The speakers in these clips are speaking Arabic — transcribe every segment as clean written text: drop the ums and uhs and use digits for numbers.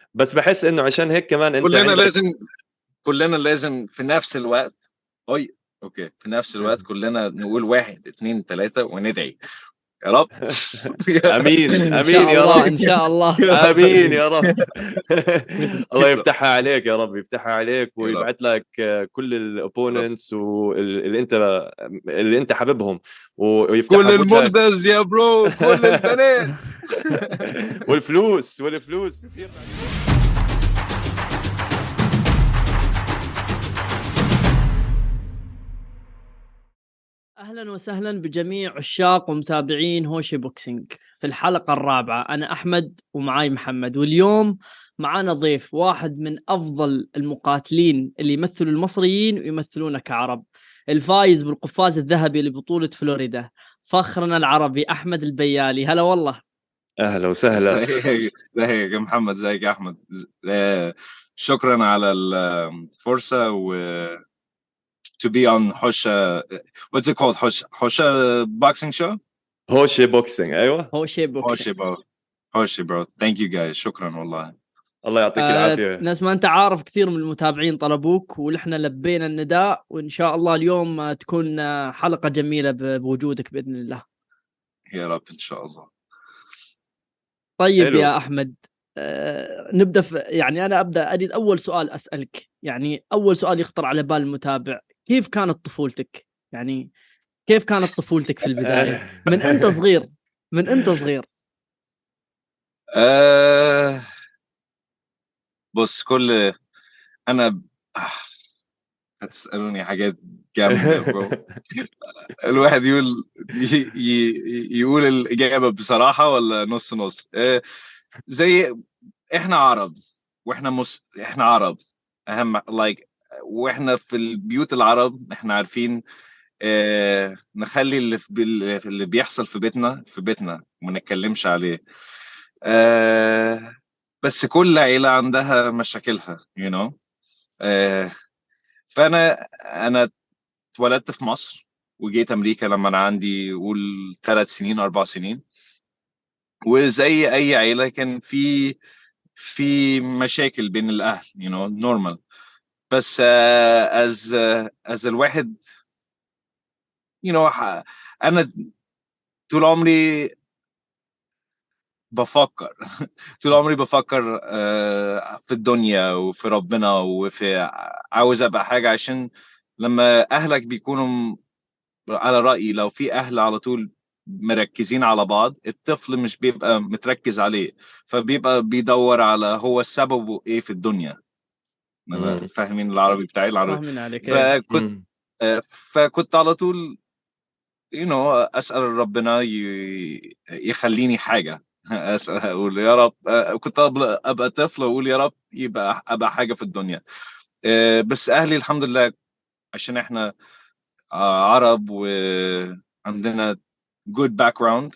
بس بحس انه عشان هيك كمان انت كلنا عندك. لازم كلنا لازم في نفس الوقت. أي اوكي، في نفس الوقت كلنا نقول واحد اتنين تلاتة وندعي يا رب. امين ان امين شاء يا الله رب. ان شاء الله. يا رب امين يا رب. الله يا رب يفتحها عليك يا رب، يفتحها عليك يا رب ويبعث لك كل يا رب. الاوبوننتس اللي انت حاببهم، ويفتحها كل بوجهك. المزز يا برو، كل البنات. والفلوس تصير. اهلا وسهلا بجميع عشاق ومتابعين هوشي بوكسينج. في الحلقة الرابعة انا احمد ومعاي محمد، واليوم معانا ضيف واحد من افضل المقاتلين اللي يمثلوا المصريين ويمثلونا كعرب، الفايز بالقفاز الذهبي لبطولة فلوريدا، فخرنا العربي احمد البيالي. هلا والله. اهلا وسهلا. ازيك يا محمد، ازيك يا احمد. شكرا على الفرصة to be on حوشة. what's it called؟ حوشة boxing show. هوشي بوكسينج، ايوه. هوشي بوكسينج. حوشي برو، حوشي برو. thank you guys، شكرا والله. الله يعطيك العافيه. ناس ما انت عارف، كثير من المتابعين طلبوك ونحن لبينا النداء، وان شاء الله اليوم تكون حلقة جميلة بوجودك بإذن الله. يا رب ان شاء الله. طيب حلو. يا أحمد، نبدأ يعني أنا أريد أول سؤال أسألك، يعني أول سؤال يخطر على بال المتابع: كيف كانت طفولتك؟ يعني كيف كانت طفولتك في البداية من أنت صغير؟ من أنت صغير. أه بص، انا هتسألوني حاجات جامدة برو. الواحد يقول الإجابة بصراحة ولا نص نص؟ زي احنا عرب، احنا عرب اهم واحنا في البيوت العرب احنا عارفين نخلي اللي بيحصل في بيتنا وما نتكلمش عليه. آه، بس كل عيلة عندها مشاكلها آه، فانا اتولدت في مصر وجيت امريكا لما انا عندي قول 3 سنين 4 سنين. وزي اي عيلة كان في مشاكل بين الاهل normal. بس از الواحد انا طول عمري بفكر طول عمري بفكر في الدنيا وفي ربنا وفي عاوز ابقى حاجة. عشان لما اهلك بيكونوا على رأيي، لو في اهل على طول مركزين على بعض، الطفل مش بيبقى متركز عليه، فبيبقى بيدور على هو السبب ايه في الدنيا. انا مم. فاهمين العربي بتاعي العربي. فاهمين عليك ايه. فكنت مم. فكنت على طول اسال ربنا يخليني حاجه. اسال اقول يا رب. كنت ابقى طفل واقول يا رب ابقى حاجه في الدنيا. بس اهلي الحمد لله، عشان احنا عرب وعندنا good background.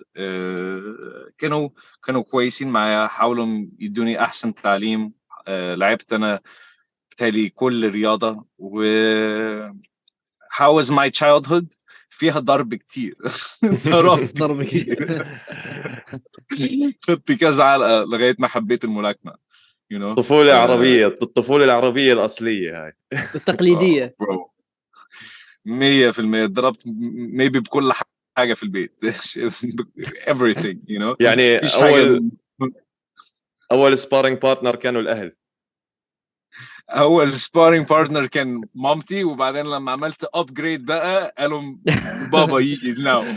كانوا كويسين معايا، حاولوا يدوني احسن تعليم. لعبت انا بتالي كل رياضه. و how was my childhood؟ فيها ضرب كتير. ضربت ضربك. كتير. خدت كذا علقة لغاية ما حبيت الملاكمة. you know طفولة عربية، الطفولة العربية الأصلية هاي. التقليدية. برو 100% ضربت maybe بكل حاجة في البيت. everything يعني مفيش حاجة. أول سبارينج بارتنر كانوا الأهل. اول سبارينج بارتنر كان مامتي، وبعدين لما عملت ابجريد بقى قالوا بابا يجي ناو.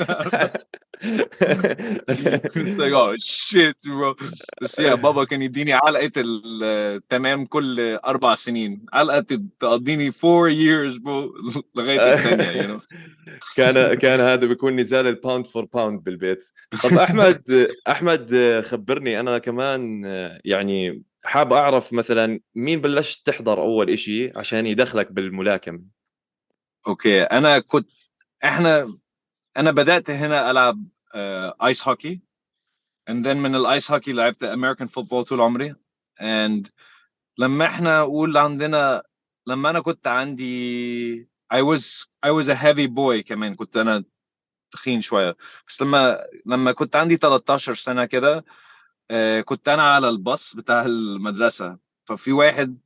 It's like oh shit bro. بس بابا كان يديني علقة تمام كل 4 سنين، علقة تقضيني 4 years bro. لغاية التانية. كان هذا بيكون نزال الباوند فور باوند بالبيت. طب احمد خبرني انا كمان، يعني حاب اعرف مثلا مين بلشت تحضر اول إشي عشان يدخلك بالملاكمة؟ اوكي، احنا انا بدأت هنا العب ايس هوكي. and then من الايس هوكي لعبت امريكان فوتبول طول عمري. and لما احنا قول عندنا، لما انا كنت عندي I was a heavy boy كمان، كنت انا تخين شويه. بس لما كنت عندي 13 سنه كده، كنت انا على الباص بتاع المدرسه، ففي واحد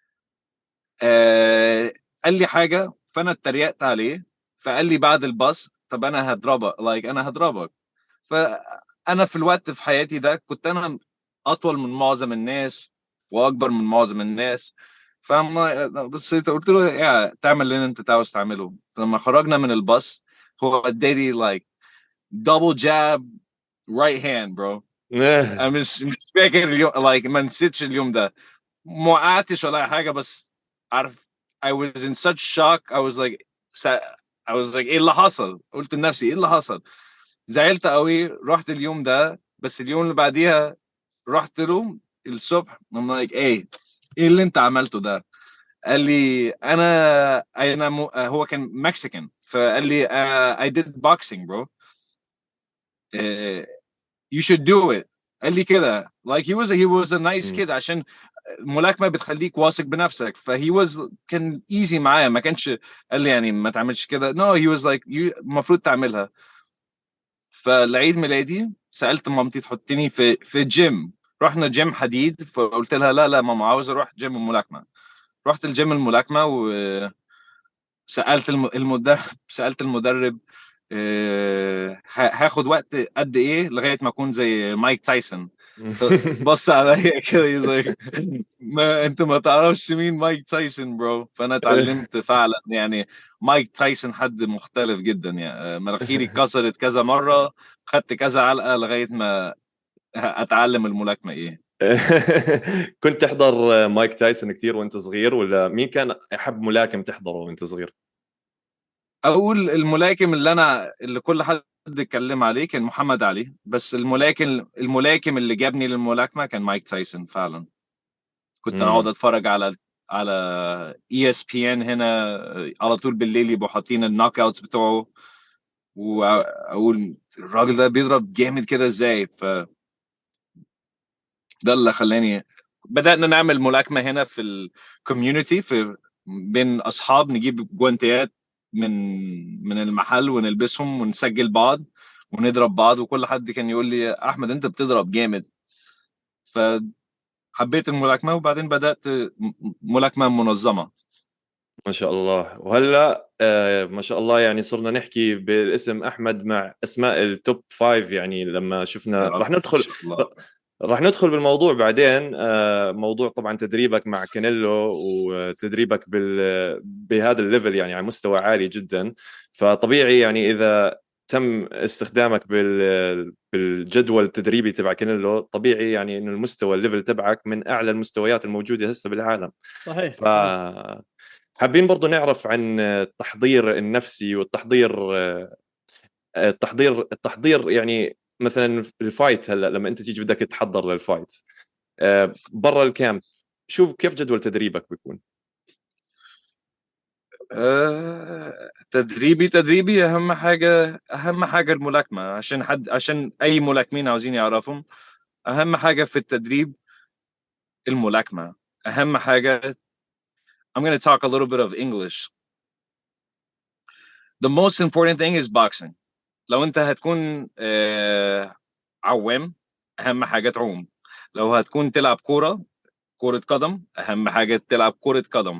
قال لي حاجه، فانا اتريقت عليه، فقال لي بعد الباص طب انا هضربك، انا هضربك. فانا في الوقت في حياتي ده كنت انا اطول من معظم الناس واكبر من معظم الناس. فما بصيت قلت له يا تعمل اللي انت عاوز تعمله. لما خرجنا من الباص هو اداني double jab right hand bro. انا مش فاكر اليوم، ما نسيتش اليوم ده. ما وقعتش ولا أي حاجه، بس عارف I was in such shock. I was like ايه اللي حصل؟ قلت لنفسي ايه اللي حصل؟ زعلت قوي. رحت اليوم ده، بس اليوم اللي بعديها رحت له الصبح. I'm like ايه اللي انت عملته ده؟ قال لي هو كان مكسيكان، فقال لي I did boxing bro. Uh, you should do it. قال لي كده he was a nice kid، عشان الملاكمه بتخليك واثق بنفسك. كان ايزي معايا، ما كانش قال لي يعني ما تعملش كده. no he was like المفروض تعملها. فالعيد ميلادي سالت مامتي تحطني في جيم. رحنا جيم حديد، فقلت لها لا لا ماما عاوز اروح جيم الملاكمه. رحت الجيم الملاكمه وسالت المدرب سالت المدرب هاخد وقت قد ايه لغايه ما اكون زي مايك تايسون. بص عليا كده يزيك ما انت ما تعرفش مين مايك تايسون برو. فانا اتعلمت فعلا يعني مايك تايسون حد مختلف جدا يعني. مناخيري اتكسرت كذا مره، خدت كذا علقه لغايه ما اتعلم الملاكمه ايه. كنت تحضر مايك تايسون كثير وانت صغير، ولا مين كان احب ملاكم تحضره وانت صغير؟ اول الملاكم اللي كل حد اتكلم عليه كان محمد علي، بس الملاكم اللي جابني للملاكمه كان مايك تايسون فعلا. كنت اقعد اتفرج على ESPN هنا على طول بالليل، يبقوا حاطين النوك اوتس بتوعه، واقول الراجل ده بيضرب جامد كده ازاي. ده اللي خلاني بدأنا نعمل ملاكمة هنا في الكوميونتي، بين اصحاب نجيب جوانتيات من المحل ونلبسهم ونسجل بعض ونضرب بعض، وكل حد كان يقول لي احمد انت بتضرب جامد. فحبيت الملاكمة، وبعدين بدأت ملاكمة منظمة. ما شاء الله. وهلا ما شاء الله يعني صرنا نحكي بالاسم احمد مع اسماء التوب 5. يعني لما شفنا راح ندخل بالموضوع بعدين. موضوع طبعا تدريبك مع كانيلو وتدريبك بهذا الليفل يعني على مستوى عالي جدا. فطبيعي يعني اذا تم استخدامك بالجدول التدريبي تبع كانيلو، طبيعي يعني انه المستوى الليفل تبعك من اعلى المستويات الموجوده هسه بالعالم. صحيح. حابين برضو نعرف عن التحضير النفسي والتحضير التحضير يعني مثلا الفايت. هلا لما انت تيجي بدك تحضر للفايت برا الكامب، كيف جدول تدريبك بيكون؟ تدريبي اهم حاجه الملاكمه، عشان اي ملاكمين عاوزين يعرفهم. اهم حاجه في التدريب الملاكمه. اهم حاجه I'm going to talk a little bit of English. The most important thing is boxing. لو انت هتكون عوام، اهم حاجه تعوم. لو هتكون تلعب كرة قدم، اهم حاجه تلعب كرة قدم.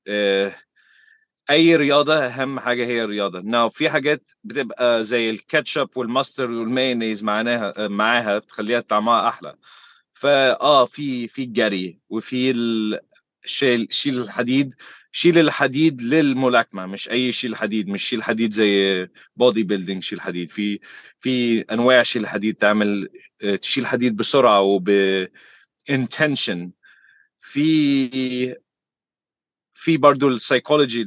اي رياضه اهم حاجه هي الرياضه. في حاجات بتبقى زي الكاتشب والماستر والمايونيز معاها بتخليها طعمها احلى. في الجري، وفي شيل الحديد. شيل الحديد للملاكمه، مش اي شيل حديد، مش شيل حديد زي بودي بيلدينج. شيل حديد في انواع شيل حديد تعمل تشيل حديد بسرعه intention. في برضو السايكولوجي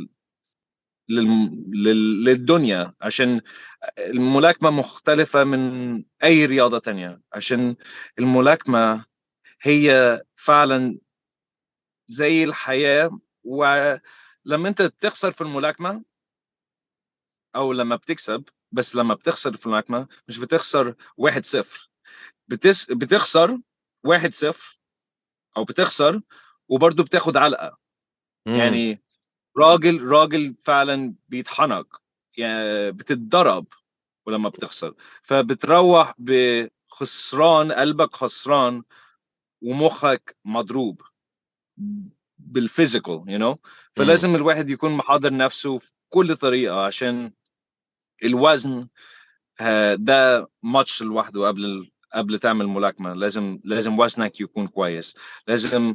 للدنيا، عشان الملاكمة مختلفة من أي رياضة تانية. عشان الملاكمة هي فعلا زي الحياة. ولما أنت تخسر في الملاكمة أو لما بتكسب، بس لما بتخسر في الملاكمة مش بتخسر 1-0، بتخسر 1-0، أو بتخسر وبرضه بتاخد علقة. يعني راجل فعلا بيتحنق، يعني بتتضرب ولما بتخسر، فبتروح خسران، قلبك خسران ومخك مضروب بالفيزيكال فلازم الواحد يكون محضر نفسه في كل طريقة، عشان الوزن ده ماتش لوحده. قبل تعمل ملاكمة لازم وزنك يكون كويس، لازم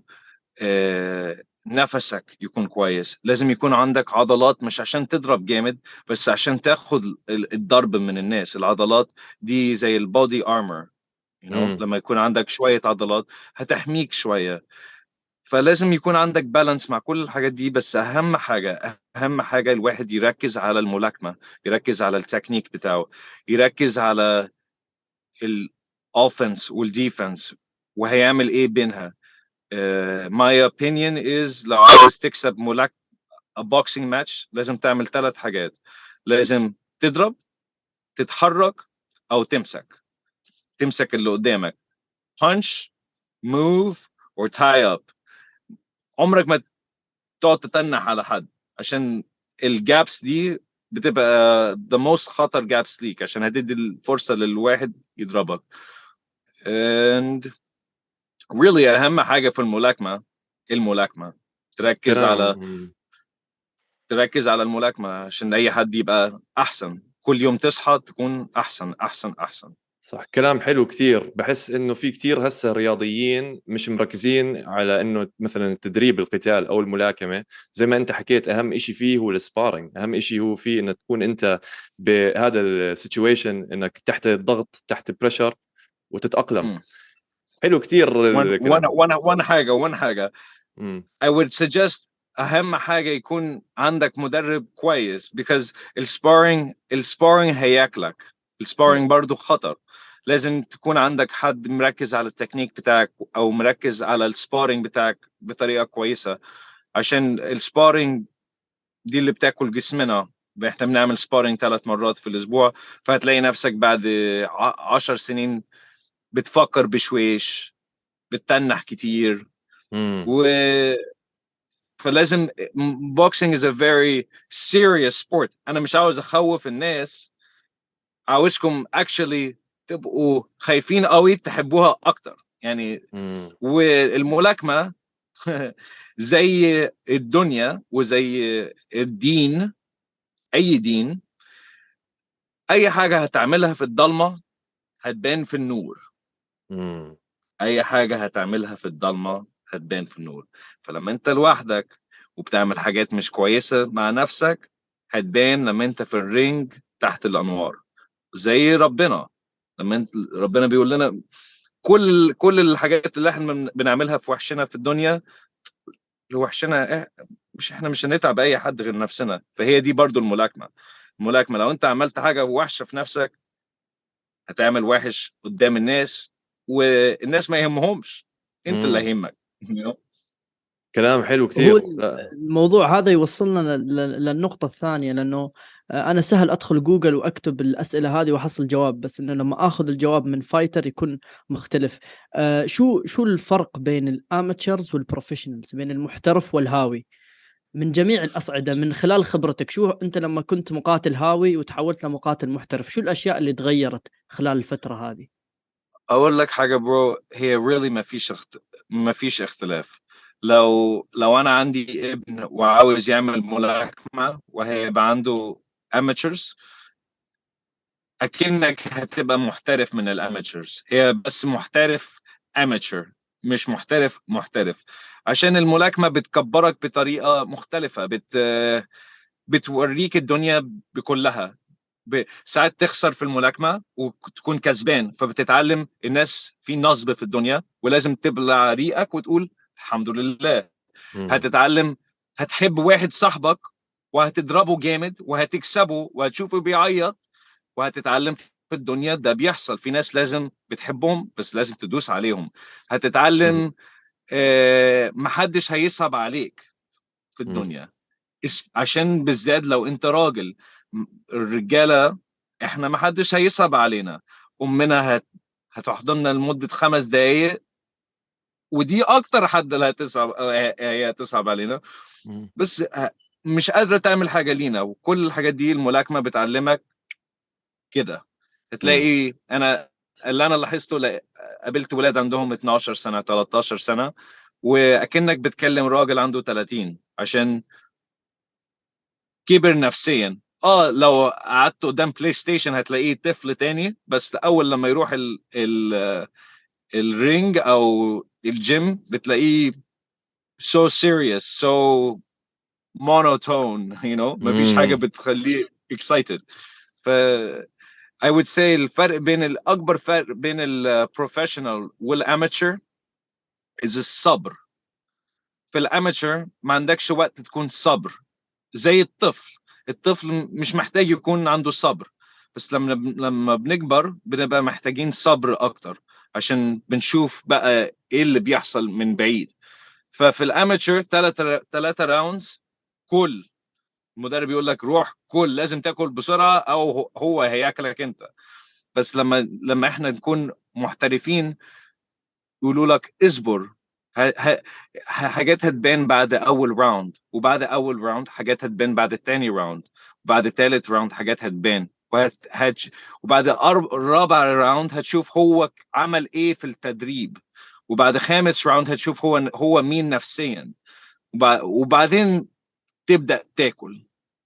نفسك يكون كويس، لازم يكون عندك عضلات، مش عشان تضرب جامد بس عشان تاخد الضرب من الناس. العضلات دي زي البودي ارمور لما يكون عندك شوية عضلات هتحميك شوية. فلازم يكون عندك بالانس مع كل الحاجات دي. بس اهم حاجة الواحد يركز على الملاكمة، يركز على التكنيك بتاعه، يركز على الاوفنس والديفنس وهيعمل ايه بينها. my opinion is لو عاوز تكسب a boxing match لازم تعمل 3 حاجات. لازم تضرب، تتحرك، او تمسك اللي قدامك. punch, move or tie up. عمرك ما تقعد تتنح على حد، عشان الجابس دي بتبقى the most خطر جابس ليك، عشان هتدي الفرصة للواحد يضربك. and really اهم حاجة في الملاكمة تركز على الملاكمة عشان اي حد يبقى احسن. كل يوم تصحى تكون احسن احسن احسن. صح، كلام حلو كثير. بحس انه في كثير هسه رياضيين مش مركزين على انه مثلا التدريب القتال او الملاكمه. زي ما انت حكيت، اهم إشي فيه هو السبارينج، اهم إشي هو فيه انك تكون انت بهذا السيتويشن، انك تحت الضغط، تحت بريشر، وتتاقلم. حلو كثير الكلام. وانا حاجه I would suggest اهم حاجه يكون عندك مدرب كويس، because السبارينج هياكلك. السبارينج برضو خطر. لازم تكون عندك حد مركز على التكنيك بتاعك او مركز على السبارينج بتاعك بطريقه كويسه، عشان السبارينج دي اللي بتاكل جسمنا. احنا بنعمل سبارينج 3 مرات في الاسبوع، فهتلاقي نفسك بعد 10 سنين بتفكر بشويش، بتتنح كتير. و فلازم boxing is a very serious sport. انا مش عاوز اخوف الناس، عاوزكم actually تبقوا خايفين قوي تحبوها اكتر يعني. والملاكمة زي الدنيا وزي الدين، اي دين، اي حاجة هتعملها في الضلمة هتبان في النور. اي حاجة هتعملها في الضلمة هتبان في النور. فلما انت لوحدك وبتعمل حاجات مش كويسة مع نفسك هتبان لما انت في الرينج تحت الانوار. زي ربنا، لما ربنا بيقول لنا كل الحاجات اللي احنا بنعملها في وحشنا في الدنيا، وحشنا احنا مش هنتعب اي حد غير نفسنا. فهي دي برضو الملاكمة لو انت عملت حاجة وحشة في نفسك هتعمل وحش قدام الناس، والناس ما يهمهمش، انت اللي هيهمك. كلام حلو هو كثير. الموضوع هذا يوصلنا للنقطة الثانية، لأنه أنا سهل أدخل جوجل وأكتب الأسئلة هذه وأحصل جواب، بس إنه لما أخذ الجواب من فايتر يكون مختلف. شو الفرق بين الأماتشرز والبروفيشنالز، بين المحترف والهاوي من جميع الأصعدة، من خلال خبرتك؟ شو أنت لما كنت مقاتل هاوي وتحولت لمقاتل محترف، شو الأشياء اللي تغيرت خلال الفترة هذه؟ اقول لك حاجه برو، هي really ما فيش اختلاف. لو انا عندي ابن وعاوز يعمل ملاكمه وهيبقى عنده amateurs، اكنك هتبقى محترف من الاماتشرز. هي بس محترف amateur، مش محترف. عشان الملاكمه بتكبرك بطريقه مختلفه، بتوريك الدنيا بكلها. ساعات تخسر في الملاكمة وتكون كسبان، فبتتعلم الناس في نصب في الدنيا ولازم تبلع ريقك وتقول الحمد لله. هتتعلم، هتحب واحد صاحبك وهتضربه جامد وهتكسبه وهتشوفه بيعيط، وهتتعلم في الدنيا ده بيحصل في ناس لازم بتحبهم بس لازم تدوس عليهم. هتتعلم محدش هيصعب عليك في الدنيا، عشان بالذات لو انت راجل. الرجاله احنا ما حدش هيصعب علينا. امنا هتحضننا لمده 5 دقائق، ودي اكتر حد اللي هي هتصعب علينا، بس مش قادره تعمل حاجه لينا. وكل الحاجات دي الملاكمه بتعلمك كده. هتلاقي انا اللي انا لاحظته قابلت ولاد عندهم 12 سنه 13 سنه واكنك بتكلم راجل عنده 30 عشان كبر نفسيا. لو قعدت قدام بلاي ستيشن هتلاقيه طفل تاني، بس اول لما يروح الرينج او الجيم بتلاقيه so serious so monotone مفيش حاجه بتخليه excited. ف I would say الأكبر فرق بين البروفيشنال والاماتشر is الصبر. في الاماتشر ما عندكش وقت تكون صبر زي الطفل مش محتاج يكون عنده صبر، بس لما بنكبر بنبقى محتاجين صبر اكتر عشان بنشوف بقى ايه اللي بيحصل من بعيد. ففي الاماتشر 3 راوندز كل المدرب يقول لك روح كل، لازم تاكل بسرعه او هو هياكلك انت. بس لما احنا نكون محترفين يقولوا لك اصبر، حاجات هتبان بعد اول راوند، وبعد اول راوند حاجات هتبان بعد الثاني راوند، وبعد ثالث راوند حاجات هتبان، وبعد الرابع راوند هتشوف هو عمل ايه في التدريب، وبعد خامس راوند هتشوف هو مين نفسيا، وبعدين تبدأ تاكل.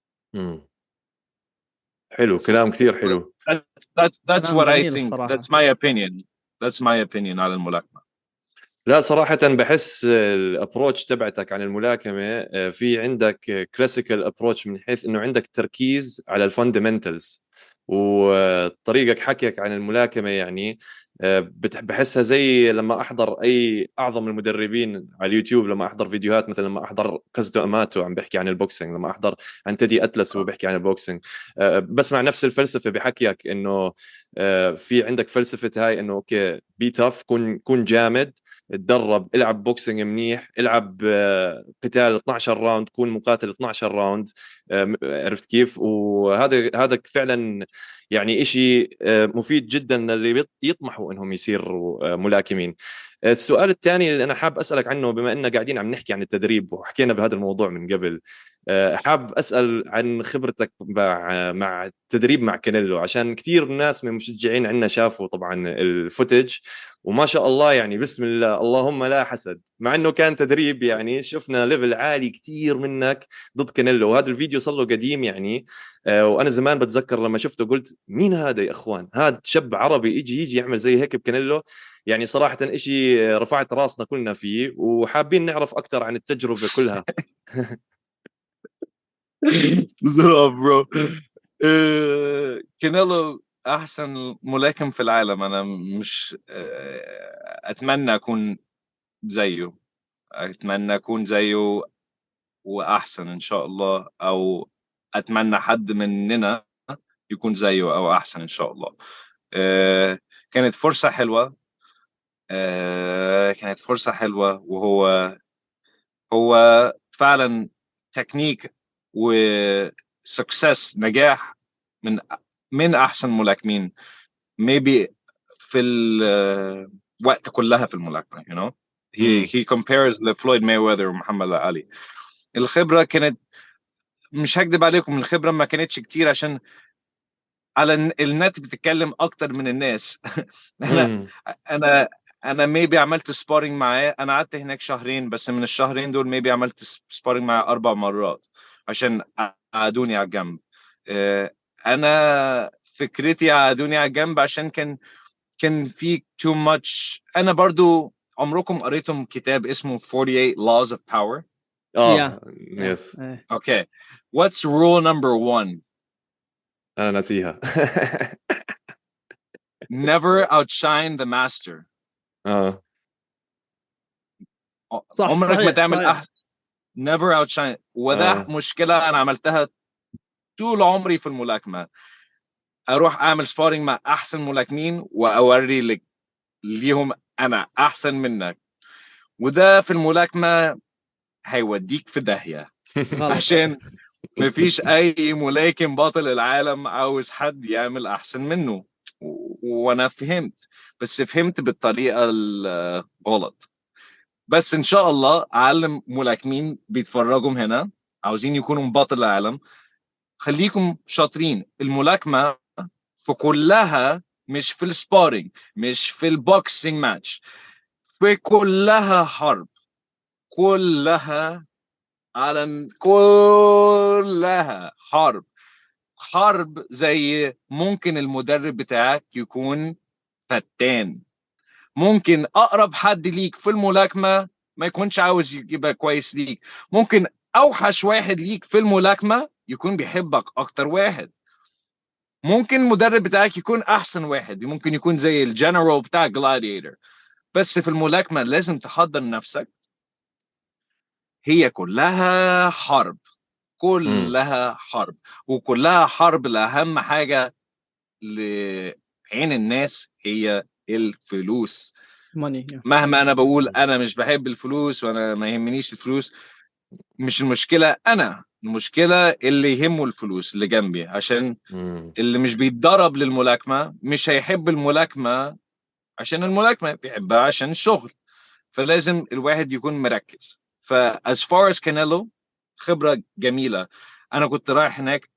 حلو، كلام كثير حلو. That's what I think. That's my opinion. That's my opinion على الملاكمة. لا صراحة بحس الابروتش تبعتك عن الملاكمة في عندك كلاسيكال ابروتش من حيث انه عندك تركيز على الفاندمنتالز، وطريقك حكيك عن الملاكمة يعني بحسها زي لما احضر اي اعظم المدربين على اليوتيوب، لما احضر فيديوهات مثلا لما احضر كازدو اماتو عم بحكي عن البوكسينج، لما احضر عن تيدي اتلس وبحكي عن البوكسينج، بسمع نفس الفلسفة بحكيك انه في عندك فلسفة هاي انه اوكي بي تاف، كون جامد، تدرب، العب بوكسينج منيح، العب قتال 12 راوند، كون مقاتل 12 راوند. عرفت كيف؟ وهذا فعلا يعني إشي مفيد جدا اللي يطمحوا انهم يصيروا ملاكمين. السؤال الثاني اللي انا حاب اسالك عنه، بما اننا قاعدين عم نحكي عن التدريب وحكينا بهذا الموضوع من قبل، حاب اسال عن خبرتك مع التدريب مع كانيلو، عشان كثير ناس من المشجعين عندنا شافوا طبعا الفوتج وما شاء الله يعني بسم الله اللهم لا حسد، مع انه كان تدريب يعني شفنا ليفل عالي كثير منك ضد كانيلو، وهذا الفيديو صار له قديم يعني. وانا زمان بتذكر لما شفته قلت مين هذا يا اخوان، هذا شاب عربي يجي يعمل زي هيك بكانيلو؟ يعني صراحة إشي رفعت راسنا كلنا فيه، وحابين نعرف أكثر عن التجربة كلها. برو، كانيلو احسن ملاكم في العالم. انا مش اتمنى اكون زيه، اتمنى اكون زيه واحسن ان شاء الله، او اتمنى حد مننا يكون زيه او احسن ان شاء الله. كانت فرصة حلوة، كانت فرصة حلوة، وهو فعلا تكنيك وسكسس، نجاح من احسن ملاكمين maybe في الوقت كلها في الملاكمه. he compares لفلويد مايوذر ومحمد علي. الخبره كانت، مش هكذب عليكم، الخبره ما كانتش كتير عشان على النت بتتكلم اكتر من الناس. انا maybe عملت سبارينج معاه، انا قعدت هناك شهرين، بس من الشهرين دول maybe عملت سبارينج معاه 4 مرات عشان قعدوني على الجنب. انا فكرتي قعدوني على الجنب عشان كان في too much. انا برضو عمركم قريتم كتاب اسمه 48 Laws of Power؟ yes. Okay, what's rule number 1؟ انا ناسيها. never outshine the master. صح، عمرك ما تعمل صحيح. never outshine. وده مشكلة أنا عملتها طول عمري في الملاكمة، أروح أعمل سبارينج مع أحسن ملاكمين وأوري ليهم أنا أحسن منك، وده في الملاكمة هيوديك في داهية. عشان مفيش أي ملاكم بطل العالم عاوز حد يعمل أحسن منه، وأنا فهمت، بس فهمت بالطريقة الغلط. بس ان شاء الله اعلم ملاكمين بيتفرجوا هنا عاوزين يكونوا بطل العالم، خليكم شاطرين. الملاكمه في كلها مش في السبارينج، مش في البوكسينج ماتش، في كلها حرب، كلها كلها حرب. حرب زي ممكن المدرب بتاعك يكون فتان، ممكن اقرب حد ليك في الملاكمه ما يكونش عاوز يبقى كويس ليك، ممكن اوحش واحد ليك في الملاكمه يكون بيحبك اكتر واحد، ممكن المدرب بتاعك يكون احسن واحد، ممكن يكون زي الجنرال بتاع جلاديتور، بس في الملاكمه لازم تحضر نفسك، هي كلها حرب، امم كلها حرب، وكلها حرب. لأهم حاجه لعين الناس هي الفلوس. ماني. مهما انا بقول انا مش بحب الفلوس وانا ما يهمنيش الفلوس، مش المشكله انا، المشكله اللي يهمه الفلوس اللي جنبي، عشان امم اللي مش بيتدرب للملاكمه مش هيحب الملاكمه عشان الملاكمه، بيحبها عشان الشغل. فلازم الواحد يكون مركز. as far as كانيلو، خبره جميله. انا كنت رايح هناك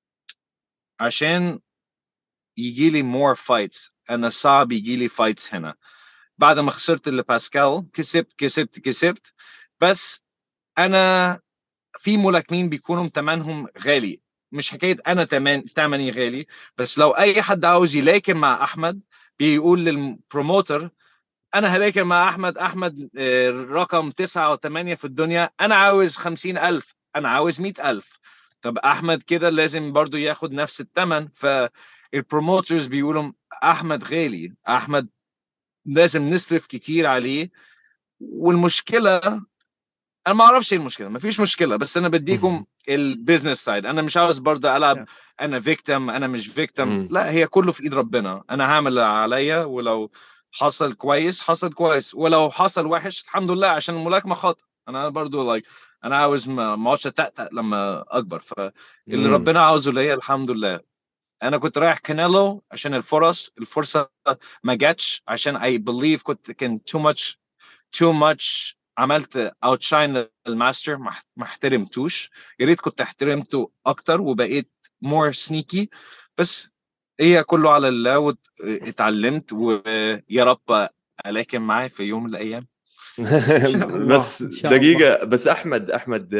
عشان يجي لي more fights، انا صعب يجي لي fights هنا بعد ما خسرت اللي باسكال، كسبت. بس انا في ملاكمين بيكونوا ثمنهم غالي، مش حكايه انا ثمني غالي، بس لو اي حد عاوز يلاكم مع احمد بيقول للبروموتر انا هلاكم مع احمد رقم 9 و8 في الدنيا، انا عاوز 50,000، انا عاوز 100,000. طب احمد كده لازم برضو ياخد نفس الثمن، فالبروموترز بيقولوا احمد غالي، احمد لازم نصرف كتير عليه. والمشكله انا ما اعرفش ايه المشكله، ما فيش مشكله، بس انا بديكم البيزنس سايد، انا مش عاوز برضه العب انا فيكتم انا مش فيكتم، امم لا، هي كله في ايد ربنا، انا هعمل اللي عليا، ولو حصل كويس حصل كويس، ولو حصل وحش الحمد لله، عشان الملاكمه خاطر، انا برضه انا عاوز ما اقعدش اتأتأ لما اكبر، فاللي امم ربنا عاوزه ليا الحمد لله. انا كنت رايح كانيلو عشان الفرصه ما جاتش، عشان اي بليف كان تو ماتش، عملت اوتشاين للماستر، ما احترمتوش، يا ريت كنت احترمته اكتر وبقيت مور سنيكي، بس هي كله على الله، واتعلمت، ويا رب الاكم معاه في يوم من الايام. ان شاء الله بس ان شاء الله. دقيقة، بس أحمد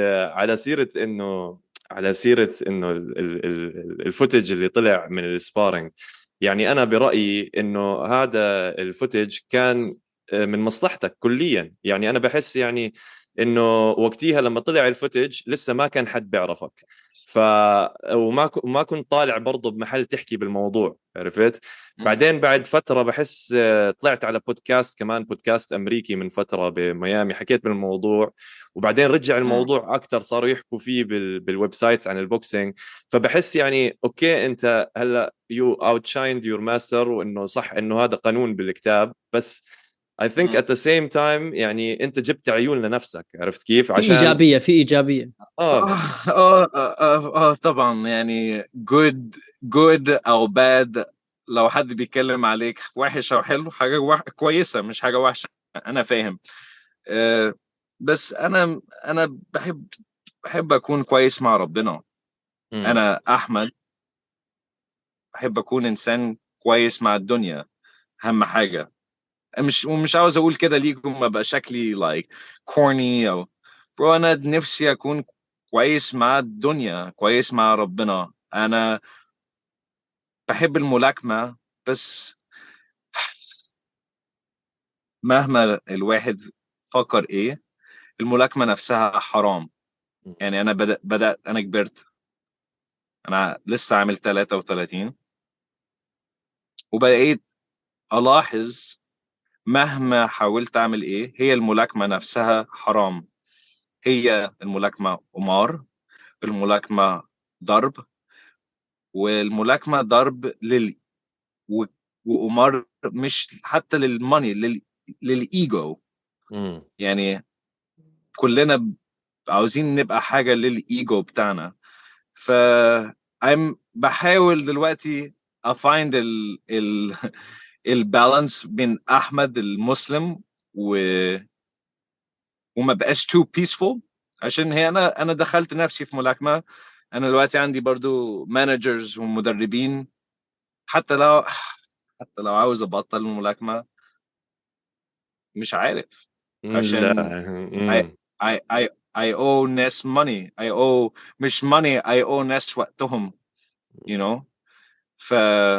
على سيرة إنه الفوتج اللي طلع من السبارينج، يعني أنا برأيي إنه هذا الفوتج كان من مصلحتك كليا. يعني أنا بحس يعني إنه وقتها لما طلع الفوتج لسه ما كان حد بيعرفك، ف وما كنت طالع برضه بمحل تحكي بالموضوع، عرفت؟ بعدين بعد فترة بحس طلعت على بودكاست، كمان بودكاست أمريكي من فترة بميامي، حكيت بالموضوع، وبعدين رجع الموضوع أكتر، صاروا يحكوا فيه بالويب سايتس عن البوكسينج. فبحس يعني أوكي، أنت هلأ you outshined your master، وإنه صح إنه هذا قانون بالكتاب، بس I think at the same time يعني أنت جبت عيون لنفسك، عرفت كيف؟ في عشان ايجابيه في ايجابيه. طبعا، يعني good او bad، لو حد بيتكلم عليك وحش او حلو، حاجه كويسه مش حاجه وحشه، انا فاهم. آه، بس انا بحب اكون كويس مع ربنا. مم. انا احمد بحب اكون انسان كويس مع الدنيا، اهم حاجه. ومش عاوز اقول كده ليكم ابقى شكلي corny او برو، انا نفسي اكون كويس مع الدنيا، كويس مع ربنا. انا بحب الملاكمة، بس مهما الواحد فكر ايه، الملاكمة نفسها حرام. يعني انا بدأت انا كبرت، انا لسه عامل 33، وبقيت الاحظ مهما حاولت اعمل ايه، هي الملاكمة نفسها حرام، هي الملاكمة قمار، الملاكمة ضرب، والملاكمة ضرب و- وقمار، مش حتى للماني، للإيجو. مم. يعني كلنا عاوزين نبقى حاجة للإيجو بتاعنا. ف بحاول دلوقتي أفايند البالانس بين أحمد المسلم وما بقاش too peaceful، عشان هي أنا دخلت نفسي في ملاكمة. أنا دلوقتي عندي برضو مانجرز ومدربين، حتى لو حتى لو عاوز ابطل الملاكمه مش عارف، لا. عشان I I owe ناس money. I owe مش money, I owe ناس وقتهم, you know. ف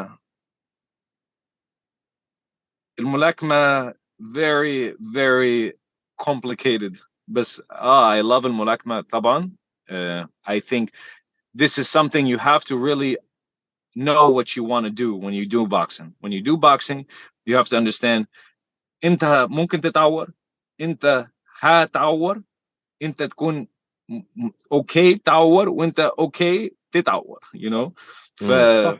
الملاكمة very very complicated. بس I love الملاكمة طبعا. I think this is something you have to really know what you want to do when you do boxing. When you do boxing, you have to understand انت ممكن تتعور, انت هتعور, انت تكون اوكي تعور, وانت اوكي تتعور, you know. ف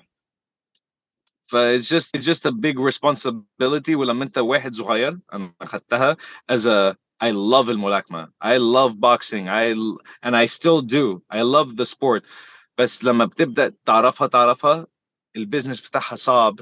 it's just a big responsibility. ولما انت واحد صغير, انا اخدتها as a I love الملاكمة, I love boxing, and I still do. I love the sport. بس لما بتبدأ تعرفها البيزنس بتاعها صعب,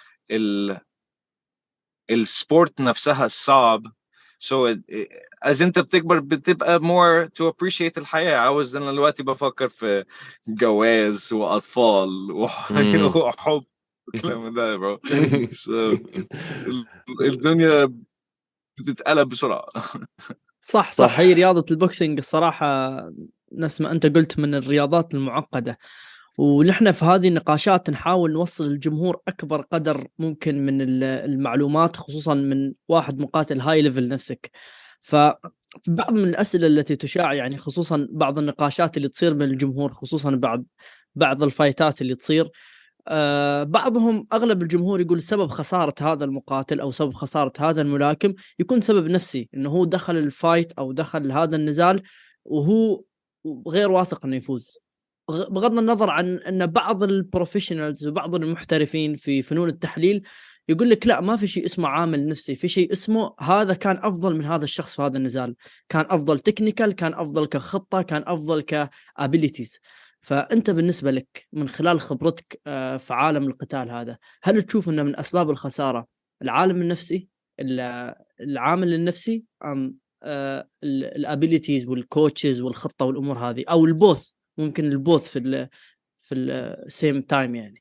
السبورت نفسها صعب. So as انت بتكبر بتبقى more to appreciate الحياة. عاوز انا دلوقتي بفكر في جواز واطفال وحب الكلام ده bro. So الدنيا بتتقلب بسرعة. صح هي رياضة البوكسينج الصراحة نفس ما أنت قلت من الرياضات المعقدة، ونحن في هذه النقاشات نحاول نوصل للجمهور أكبر قدر ممكن من المعلومات، خصوصا من واحد مقاتل هاي ليفل نفسك. ففي بعض من الأسئلة التي تشاع يعني، خصوصا بعض النقاشات اللي تصير من الجمهور، خصوصا بعض الفايتات اللي تصير، بعضهم أغلب الجمهور يقول سبب خسارة هذا المقاتل أو سبب خسارة هذا الملاكم يكون سبب نفسي، إنه هو دخل الفايت أو دخل هذا النزال وهو غير واثق إنه يفوز. بغض النظر عن أن بعض البروفيشنالز وبعض المحترفين في فنون التحليل يقول لك لا، ما في شيء اسمه عامل نفسي، في شيء اسمه هذا كان أفضل من هذا الشخص في هذا النزال، كان أفضل تكنيكال، كان أفضل كخطة، كان أفضل كابيليتيز. فأنت بالنسبة لك من خلال خبرتك في عالم القتال هذا، هل تشوف أنه من أسباب الخسارة العالم النفسي، العامل النفسي، أم الابيليتيز والكوتشز والخطة والأمور هذه، أو البوث؟ ممكن البوث في السيم تايم يعني.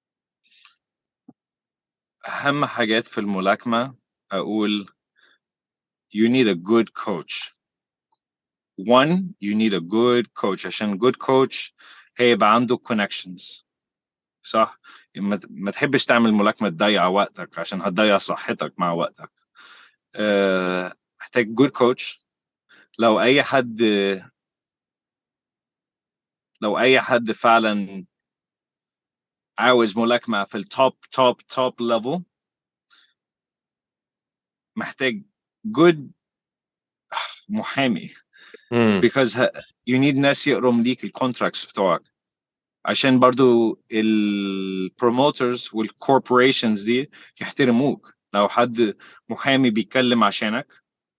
أهم حاجات في الملاكمة أقول you need a good coach. One, you need a good coach. عشان good coach هيبقى عنده connections. صح؟ ما تحبش تعمل ملاكمة تضيع وقتك عشان هتضيع صحتك مع وقتك. محتاج good coach. لو أي حد فعلا عاوز ملاكمة في التوب level, محتاج good محامي. because you need ناس يقرم ليك الكونتراكتس بتوعك, عشان برضو البروموترز والكوربوريشنز دي يحترموك. لو حد محامي بيتكلم عشانك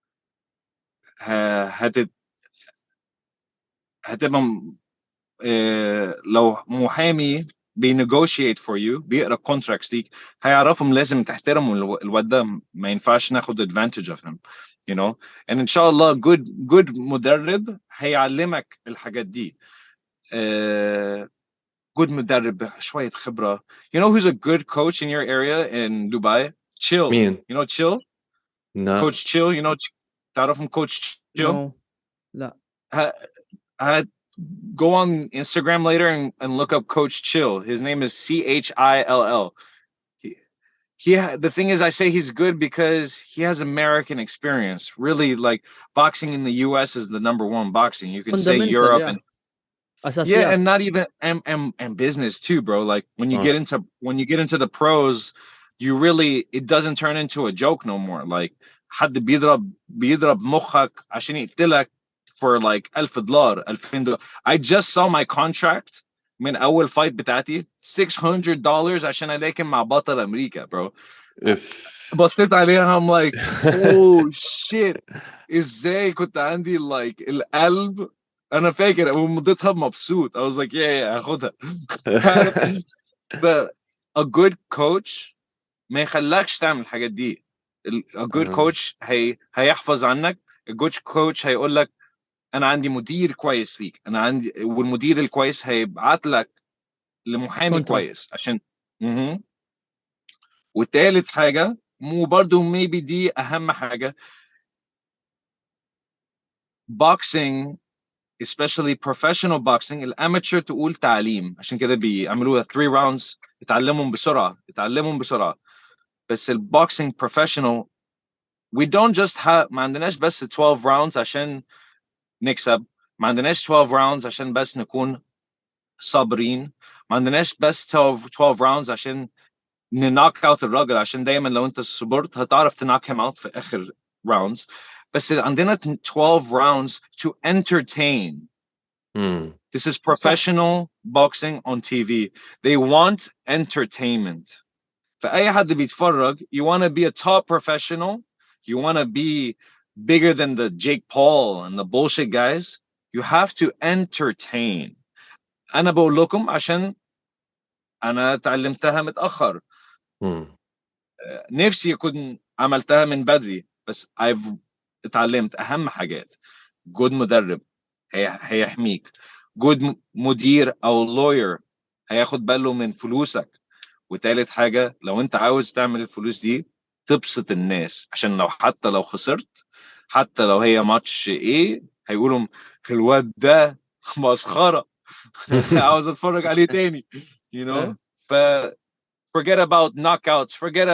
هتبقى لو محامي بينيغوشيت فور يو, بيقرا كونتراكتس ديك, هيعرفهم لازم تحترموا الواد ده, ما ينفعش ناخد advantage of him, you know. and ان شاء الله good مدرب هيعلمك الحاجات دي. good مدرب شوية خبرة. You know who's a good coach in your area in Dubai? Chill. مين؟ You know Chill? لا. Coach Chill, you know, تعرفهم Coach Chill? No. لا. Go on Instagram later and look up Coach Chill. His name is CHILL. The thing is, I say he's good because he has American experience. Really, like boxing in the US is the number one boxing. You can say Europe and أساسيات. and not even and business too, bro. Like when you get into the pros, you really, it doesn't turn into a joke no more. Like حد بيضرب مخك عشان يقتلك for like $1000 $2000. I just saw my contract من أول fight بتاعتي $600 عشان ألاقي مع بطل أمريكا, bro. بصيت عليها, I'm like, oh shit. إزاي كنت عندي like القلب. أنا فاكر ومضيتها مبسوط. I was like, yeah, هاخدها. But a good coach ما يخلكش تعمل الحاجات دي. A good coach هيحفظ عنك. A good coach هيقول لك أنا عندي مدير كويس ليك, أنا عندي, والمدير الكويس هيبعت لك لمحامي كويس عشان وتالت حاجة برضو maybe دي أهم حاجة، boxing especially professional boxing الاماتشر تقول تعليم، عشان كده بيعملوها 3 rounds يتعلمهم بسرعة. بس البوكسينج professional we don't just have، ما عندناش بس 12 rounds عشان نكسب، ما عندناش 12 rounds عشان بس نكون صابرين، ما عندناش بس 12 rounds عشان ننوك اوت الراجل، عشان دايما لو انت صبرت هتعرف تنوك him out في اخر rounds. بس عندنا 12 rounds to entertain. This is professional boxing on TV. They want entertainment. فأي حد بيتفرج you want to be a top professional, you want to be bigger than the Jake Paul and the bullshit guys, you have to entertain. أنا بقول لكم عشان أنا تعلمتها متأخر. نفسي أكون عملتها من بدري، بس I've اتعلمت أهم حاجات. good مدرب هيحميك، good مدير أو lawyer هياخد باله من فلوسك، وتالت حاجة لو انت عاوز تعمل الفلوس دي تبسط الناس، عشان حتى لو خسرت، حتى لو هي ماتش ايه هيقولوا الواد ده مسخرة عاوز اتفرج عليه تاني you know. ف forget about knockouts,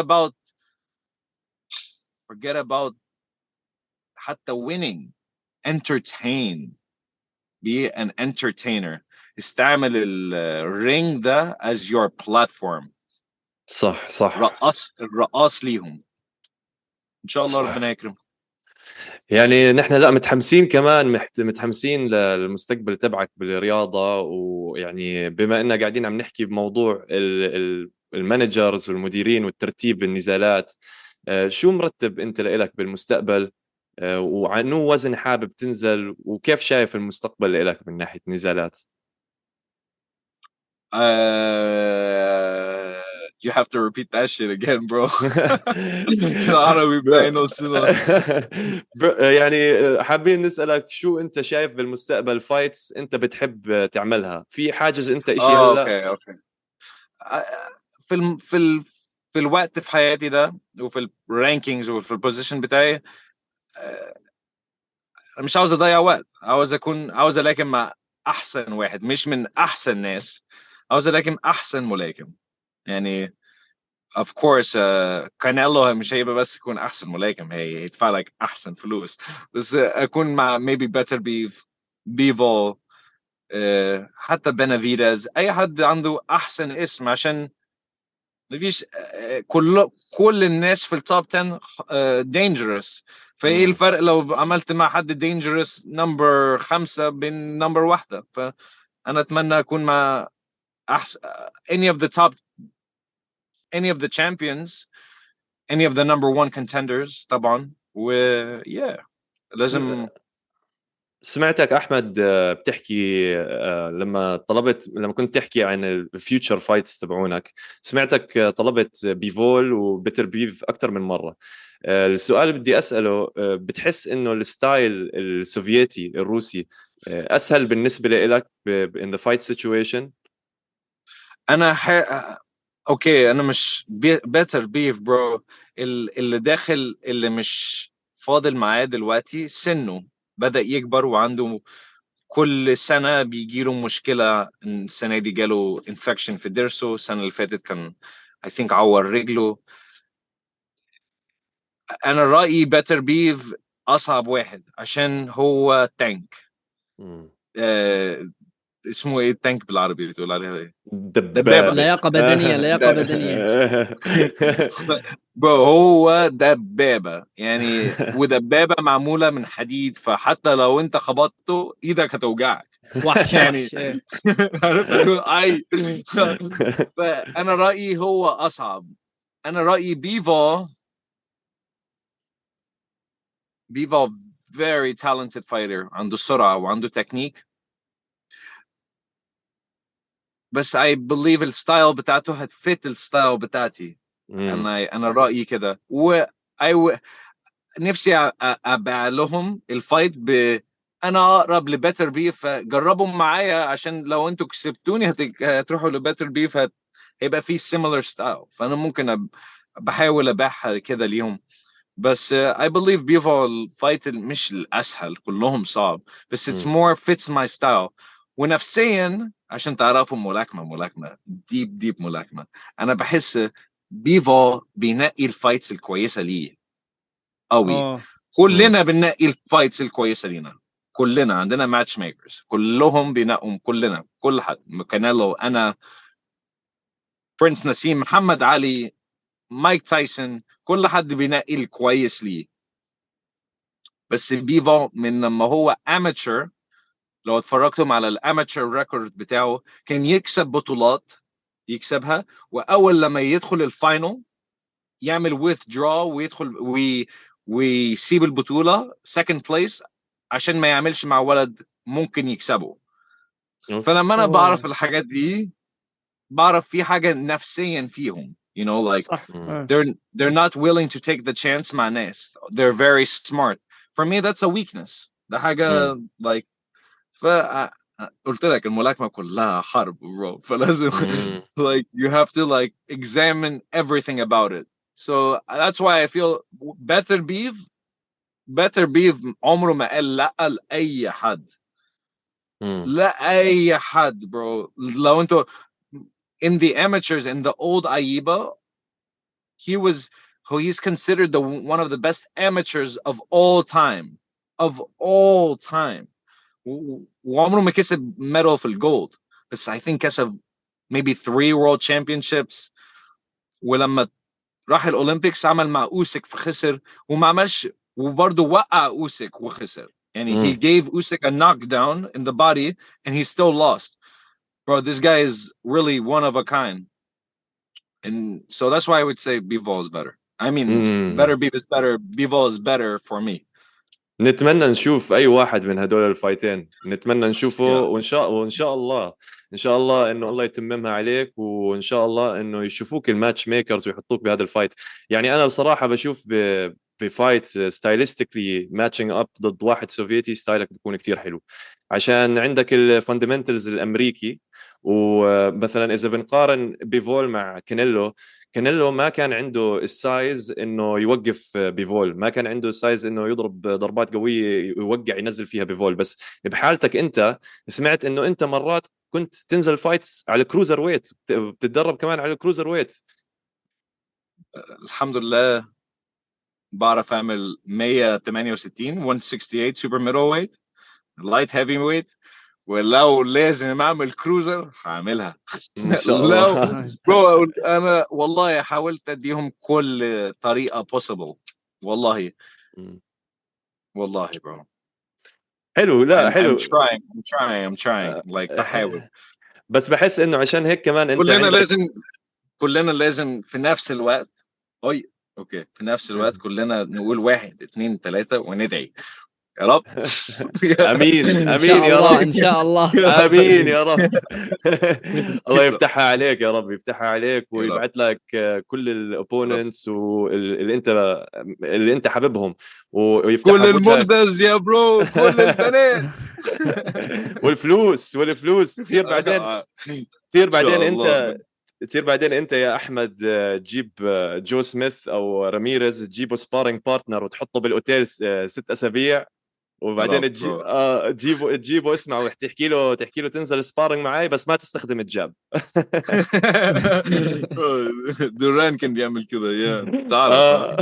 forget about حتى winning. entertain, be an entertainer. استعمل الرينج ده as your platform. صح الرقاص ليهم ان شاء الله. ربنا يكرم. يعني نحن لا متحمسين كمان، متحمسين للمستقبل تبعك بالرياضة. ويعني بما اننا قاعدين عم نحكي بموضوع المانجرز والمديرين والترتيب النزالات، شو مرتب انت لإلك بالمستقبل؟ وعنو وزن حابب تنزل، وكيف شايف المستقبل لإلك من ناحية نزالات؟ You have to repeat that shit again, bro. العربي بتاعي نص نص. يعني حابين نسألك شو انت شايف بالمستقبل فايتس انت بتحب تعملها، في حاجز انت اشي هلا؟ اوكي. في الوقت في حياتي ده، وفي الرانكينجز وفي البوزيشن بتاعي، مش عاوز اضيع وقت، عاوز الاكم مع احسن واحد، مش من احسن ناس، عاوز الاكم احسن ملاكم. يعني of course كانيلو مش هيبقى بس يكون احسن ملاكم، هيدفع لك احسن فلوس، بس اكون مع maybe better بيفو، حتى بنافيدز، اي حد عنده احسن اسم، عشان مفيش كل الناس في التوب 10 dangerous. فايه الفرق لو عملت مع حد dangerous نمبر 5 بين نمبر 1؟ فانا اتمنى اكون مع احسن any of the champions, any of the number 1 contenders طبعا. و yeah لازم. سمعتك احمد بتحكي لما كنت تحكي عن الفيوتشر فايتس تبعونك، سمعتك طلبت بيفول وبيتر بيف اكثر من مره. السؤال اللي بدي اساله، بتحس انه الستايل السوفيتي الروسي اسهل بالنسبه لك in the fight situation؟ انا اوكي، انا مش بيتر بيف برو. اللي داخل اللي مش فاضل معاه دلوقتي سنه بدأ يكبر، وعنده كل سنة بيجيله مشكلة. السنة دي جاله انفكشن في ضرسه، السنة اللي فاتت كان I think عور رجله. أنا رأيي بيتر بيف أصعب واحد عشان هو تانك. اسمه ايه التانك بالعربي بتقول عليها ايه؟ دبابة. لياقة بدنية. هو دبابة يعني، ودبابة معمولة من حديد، فحتى لو انت خبطته ايدك هتوجعك. وحش يعني عرفت تقول اي. فانا رأيي هو اصعب. انا رأيي بيفا very talented fighter، عنده سرعة وعنده تكنيك، بس I believe الستايل بتاعته هتفت الستايل بتاعتي. انا رأيي كده. نفسي ابيع لهم الفايت انا اقرب لبيتر بيف، فجربوا معايا، عشان لو انتوا كسبتوني هتروحوا لبيتر بيف، هيبقى فيه similar style. فانا ممكن بحاول ابيعها كده ليهم. بس I believe بيفو الفايت مش الاسهل، كلهم صعب، بس it's more fits my style. ونفسيا عشان تعرفوا ملاكمة ديب ملاكمة، انا بحس بيفو بينقي الفايتس الكويسة ليه قوي. كلنا بننقي الفايتس الكويسة لينا، كلنا عندنا ماتش ميكرز، كلهم بينقوا، كلنا، كل حد، كانيلو، انا، برنس نسيم، محمد علي، مايك تايسون، كل حد بينقي الكويس ليه. بس بيفو من لما هو اماتشر، لو اتفرجتم على الاماتشر ريكورد بتاعه، كان يكسب بطولات، يكسبها، واول لما يدخل الفاينل يعمل withdraw ويدخل ويسيب البطولة second place عشان ما يعملش مع ولد ممكن يكسبه. فلما انا بعرف الحاجات دي، بعرف في حاجة نفسيا فيهم، you know, like صح. they're not willing to take the chance مع ناس. They're very smart. For me that's a weakness. ده حاجة like قلت لك الملاكمة كلها حرب bro. فلازم like you have to like examine everything about it. So that's why I feel better beef عمره ما قال لا لأي حد. لا أي حد bro. لو انتوا in the amateurs, in the old Aiba, he's considered one of the best amateurs of all time. وعمره ما كسب medal في الجولد، بس I think كسب maybe 3 world championships. ولما راح الأولمبيكس عمل مع أوسك فخسر، وما عملش، وبرضه وقع أوسك وخسر. يعني he gave Usyk a knockdown in the body and he still lost. Bro, this guy is really one of a kind. And so that's why I would say Bivol is better. I mean, better beef is better. Bivol is better for me. نتمنى نشوف اي واحد من هدول الفايتين، نتمنى نشوفه. وان شاء الله انه الله يتممها عليك، وان شاء الله انه يشوفوك الماتش ميكرز ويحطوك بهذا الفايت. يعني انا بصراحه بشوف بفايت ستايلستيكلي ماتشنج اب ضد واحد سوفيتي، ستايلك بيكون كتير حلو عشان عندك الفاندمنتالز الامريكي. ومثلا اذا بنقارن بيفول مع كانيلو ما كان عنده السايز انه يوقف بيفول، ما كان عنده السايز انه يضرب ضربات قويه يوقع ينزل فيها بيفول. بس بحالتك انت سمعت انه انت مرات كنت تنزل فايتس على كروزر ويت، بتتدرب كمان على كروزر ويت. الحمد لله بعرف اعمل 168 168 سوبر ميدل ويت، لايت هيفي ويت، ولو لازم اعمل كروزر هعملها ان شاء الله. برو انا والله حاولت اديهم كل طريقه possible. والله برو حلو. لا حلو. I'm trying like بحاول. بس بحس انه عشان هيك كمان انت كلنا لازم في نفس الوقت. اوكي في نفس الوقت كلنا نقول 1 2 3 وندعي يا رب. امين يا رب، ان شاء الله امين يا رب. الله يفتحها عليك يا رب، يفتحها عليك ويبعث لك كل الاوبوننتس اللي انت حاببهم، ويفتح كل المرزز يا برو، كل البنات والفلوس تصير بعدين انت يا احمد تجيب جو سميث او راميريز، تجيبه سبارينج بارتنر وتحطه بالاوتيل 6 اسابيع، وبعدين تجيبه اسمع وتحكي له تنزل سبارينج معي بس ما تستخدم الجاب. دوران كان بيعمل كده يا تعرف.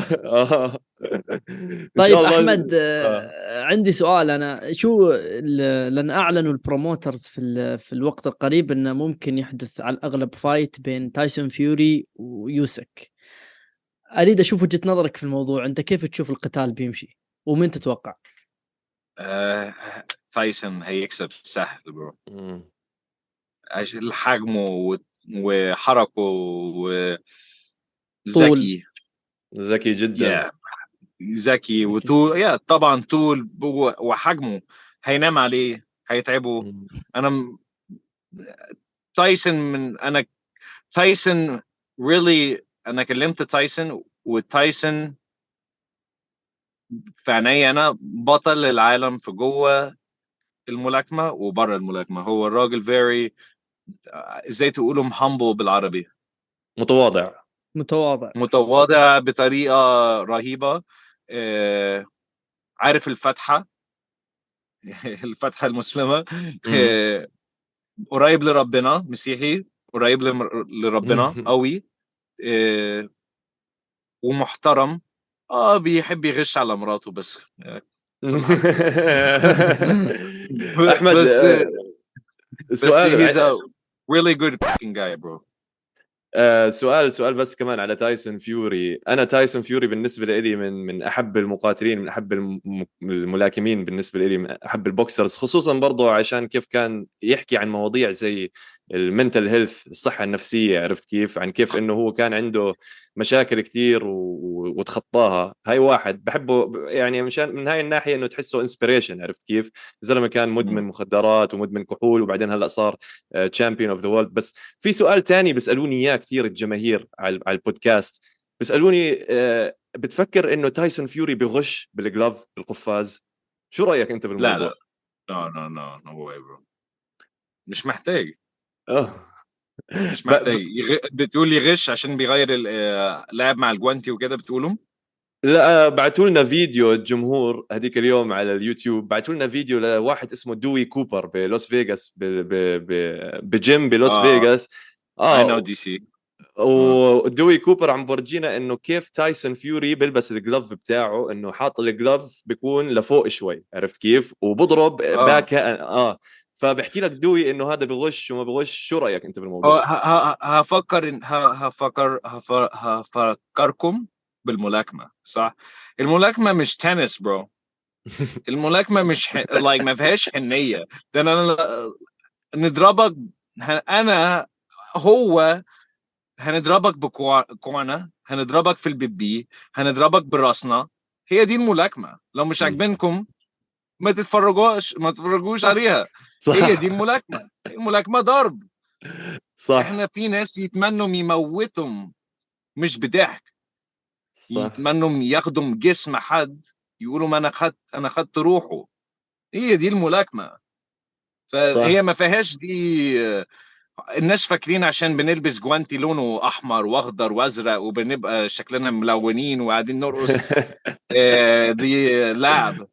طيب احمد عندي سؤال. انا شو لان اعلنوا البروموترز في الوقت القريب انه ممكن يحدث على الاغلب فايت بين تايسون فيوري ويوسك. اريد اشوف وجهة نظرك في الموضوع، انت كيف تشوف القتال بيمشي ومين تتوقع؟ تايسون هيكسب سهل برو، عشان حجمه وحركه وذكي، ذكي جدا، ذكي وطول، طبعا طول وحجمه هينام عليه، هيتعبه. انا تايسون really انا كلمت تايسون، وتايسون في عيني انا بطل العالم في جوه الملاكمه وبره الملاكمه. هو الراجل very ازاي تقولهم humble بالعربي؟ متواضع. متواضع بطريقة رهيبة. عارف الفتحة الفتحة المسلمة. قريب لربنا، مسيحي قريب لربنا قوي. ومحترم. بيحب يغش على مراته بس. احمد، بس سؤال he's a really good fucking guy bro. سؤال بس كمان على تايسون فيوري. انا تايسون فيوري بالنسبه لي من احب المقاتلين، من احب الملاكمين بالنسبه لي، من احب البوكسرز، خصوصا برضو عشان كيف كان يحكي عن مواضيع زي المنتل هيلث، الصحه النفسيه، عرفت كيف، عن كيف انه هو كان عنده مشاكل كتير وتخطاها. هاي واحد بحبه يعني من هاي الناحيه، انه تحسه انسبيريشن، عرفت كيف. زلمه كان مدمن مخدرات ومدمن كحول، وبعدين هلا صار تشامبيون اوف ذا وورلد. بس في سؤال تاني بيسالوني اياه كثير الجماهير على البودكاست، بيسالوني بتفكر انه تايسون فيوري بغش بالجلوف بالقفاز؟ شو رايك انت بالموضوع؟ لا no way bro. مش محتاج. اه مش محتاج بتقول يغش عشان بيغير لعب مع الجوانتي وكده بتقولهم؟ لا، بعثوا لنا فيديو الجمهور هذيك اليوم على اليوتيوب، بعثوا لنا فيديو لواحد اسمه دوي كوبر بلوس فيغاس، بجيم بلوس فيغاس. I know DC. ودوي كوبر عم برجينا انه كيف تايسون فيوري بيلبس الجلوف بتاعه، انه حاط الجلوف بيكون لفوق شوي، عرفت كيف، وبضرب باك. فبحكي لك دوي انه هذا بغش وما بغش. شو رايك انت بالموضوع؟ هفكركم بالملاكمه، صح؟ الملاكمه مش تنس برو. الملاكمه مش like ما فيهاش حنيه. ده انا نضربك. انا هو هنضربك بكوانا، هنضربك في البيبي، هنضربك براسنا. هي دي الملاكمه. لو مش عاجبينكم ما تتفرجوش صح عليها. صح هي دي الملاكمه. الملاكمه ضرب. صح احنا في ناس يتمنوا يموتهم مش بضحك، صح يتمنوا ياخدوا جسم حد، يقولوا ما انا خدت روحه. هي دي الملاكمه. فهي صح ما فيهاش دي. الناس فاكرين عشان بنلبس جوانتي لونه احمر واخضر وازرق وبنبقى شكلنا ملونين وقاعدين نرقص. دي لعب.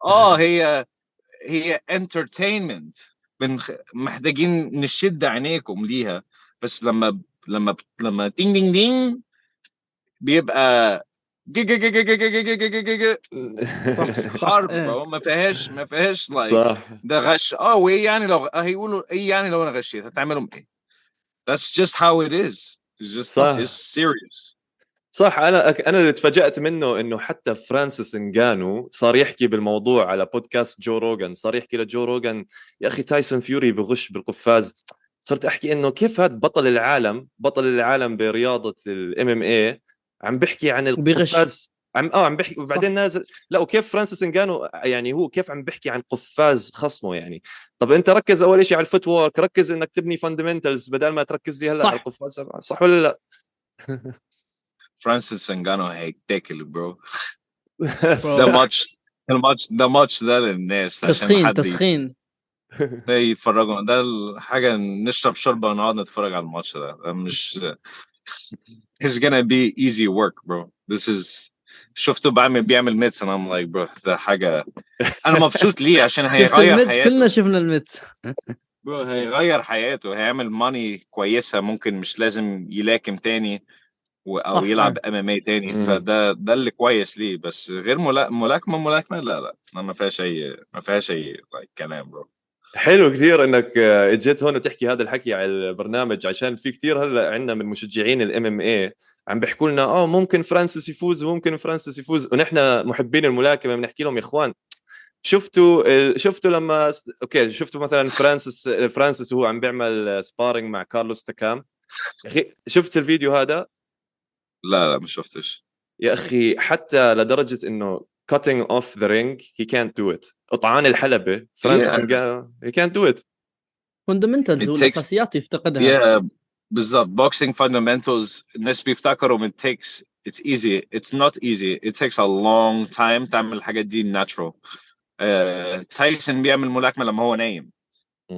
هي انترتينمنت. محتاجين نشد عينيكم ليها. بس لما تينج دينج دينج بيبقى حرب برو. ما فيهاش لايك صح ده غش. وايه يعني لو هيقولوا ايه يعني لو انا غشيت هتعملهم ايه؟ That's just how it is. It's just صح it's serious. صح. انا اللي تفاجأت منه انه حتى فرانسيس انغانو صار يحكي بالموضوع على بودكاست جو روغان، صار يحكي لجو روغان يا اخي تايسون فيوري بغش بالقفاز. صرت احكي انه كيف هذا بطل العالم برياضة الام ام اي عم بحكي عن وبيغش. القفاز، عم بحكي، وبعدين نازل. لا، وكيف فرانسيس انغانو يعني هو كيف عم بحكي عن قفاز خصمه يعني. طب انت ركز اول شيء على الفوت وورك، ركز انك تبني فاندمنتالز بدل ما تركز لي هلا على صح القفاز، صح ولا لا؟ فرانسيس انجانو هيتاكل برو. ده برو. ماتش ده للناس عشان تسخين ده يتفرجوا. ده الحاجة نشرب شوربة ونقعد نتفرج على الماتش ده مش it's gonna be easy work bro. This is شفته بيعمل ميتس and I'm like bro ده حاجة أنا مبسوط ليه عشان شفت هيغير الميتس؟ حياته. كلنا شفنا الميتس. برو هيغير حياته، هيعمل ماني كويسة، ممكن مش لازم يلاكم تاني او صح. يلعب MMA تاني. فده اللي كويس ليه. بس غير ملاكمة لا ما فيهاش اي كلام برو. حلو كثير انك اجيت هون وتحكي هذا الحكي على البرنامج، عشان في كثير هلا عندنا من مشجعين الام ام اي عم بيحكوا لنا ممكن فرانسيس يفوز وممكن فرانسيس يفوز، ونحن محبين الملاكمه بنحكي لهم يا اخوان شفتوا لما اوكي شفتوا مثلا فرانسيس وهو عم بيعمل سبارينج مع كارلوس تاكام؟ يا اخي شفت الفيديو هذا؟ لا ما شفتش يا اخي حتى لدرجه انه cutting off the ring he can't do it. قطعان الحلبة فرانسيس انغانو he can't do it. فوندمنتالز والاساسيات يفتقدها. بالضبط. boxing fundamentals الناس بيفتكروا it's easy. It's not easy. It takes a long time تعمل الحاجات دي natural. تايسون بيعمل ملاكمة لما هو نايم.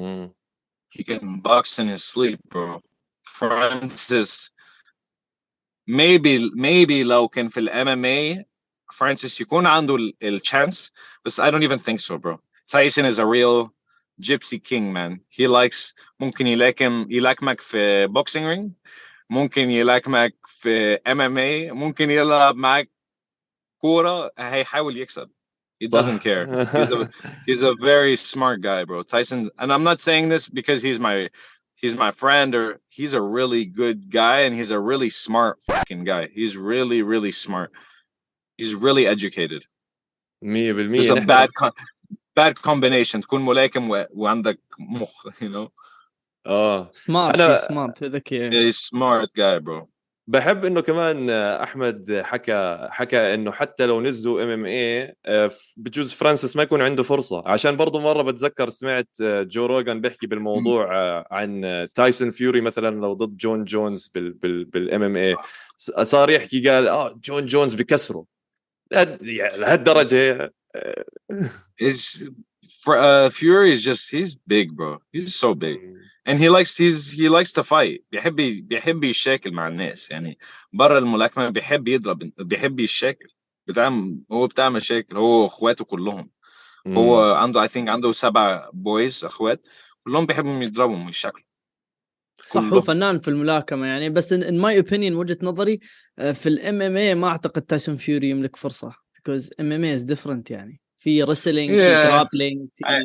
He can box in his sleep bro. Francis maybe لو كان في ال MMA فرانسيس يكون عنده الchance, بس I don't even think so, bro. Tyson is a real gypsy king, man. He likes, ممكن يلاكمك في boxing ring, ممكن يلاكمك في MMA, ممكن يلعب معك كورة, هيحاول يكسب. He doesn't صح. care. He's a very smart guy, bro. Tyson, and I'm not saying this because he's my friend, or he's a really good guy, and he's a really smart fucking guy. He's really, really smart. He's really educated. 100% There's a نحن bad combination. تكون ملاكم وعندك مخ, you know. سمارت، انا سمارت ذكي. He's a smart guy, bro. بحب انه كمان احمد حكى انه حتى لو نزلوا MMA بجوز فرانسيس ما يكون عنده فرصه، عشان برضو مره بتذكر سمعت جو روغان بيحكي بالموضوع عن تايسون فيوري مثلا لو ضد جون جونز بالMMA، صار يحكي قال جون جونز بكسره لهالدرجه. His Fury is just, he's big, bro. He's so big. And he likes to fight. بيحب يشاكل مع الناس يعني. برا الملاكمة بيحب يضرب، بيحب يشاكل. هو بتاع مشاكل، هو اخواته كلهم. هو عنده I think عنده 7 boys اخوات، كلهم بيحبوا يضربهم ويشاكلوا. صح، هو فنان في الملاكمة يعني. بس in my opinion وجهة نظري في ال MMA ما أعتقد تايسون فيوري يملك فرصة because MMA is different يعني. في wrestling، في grappling، في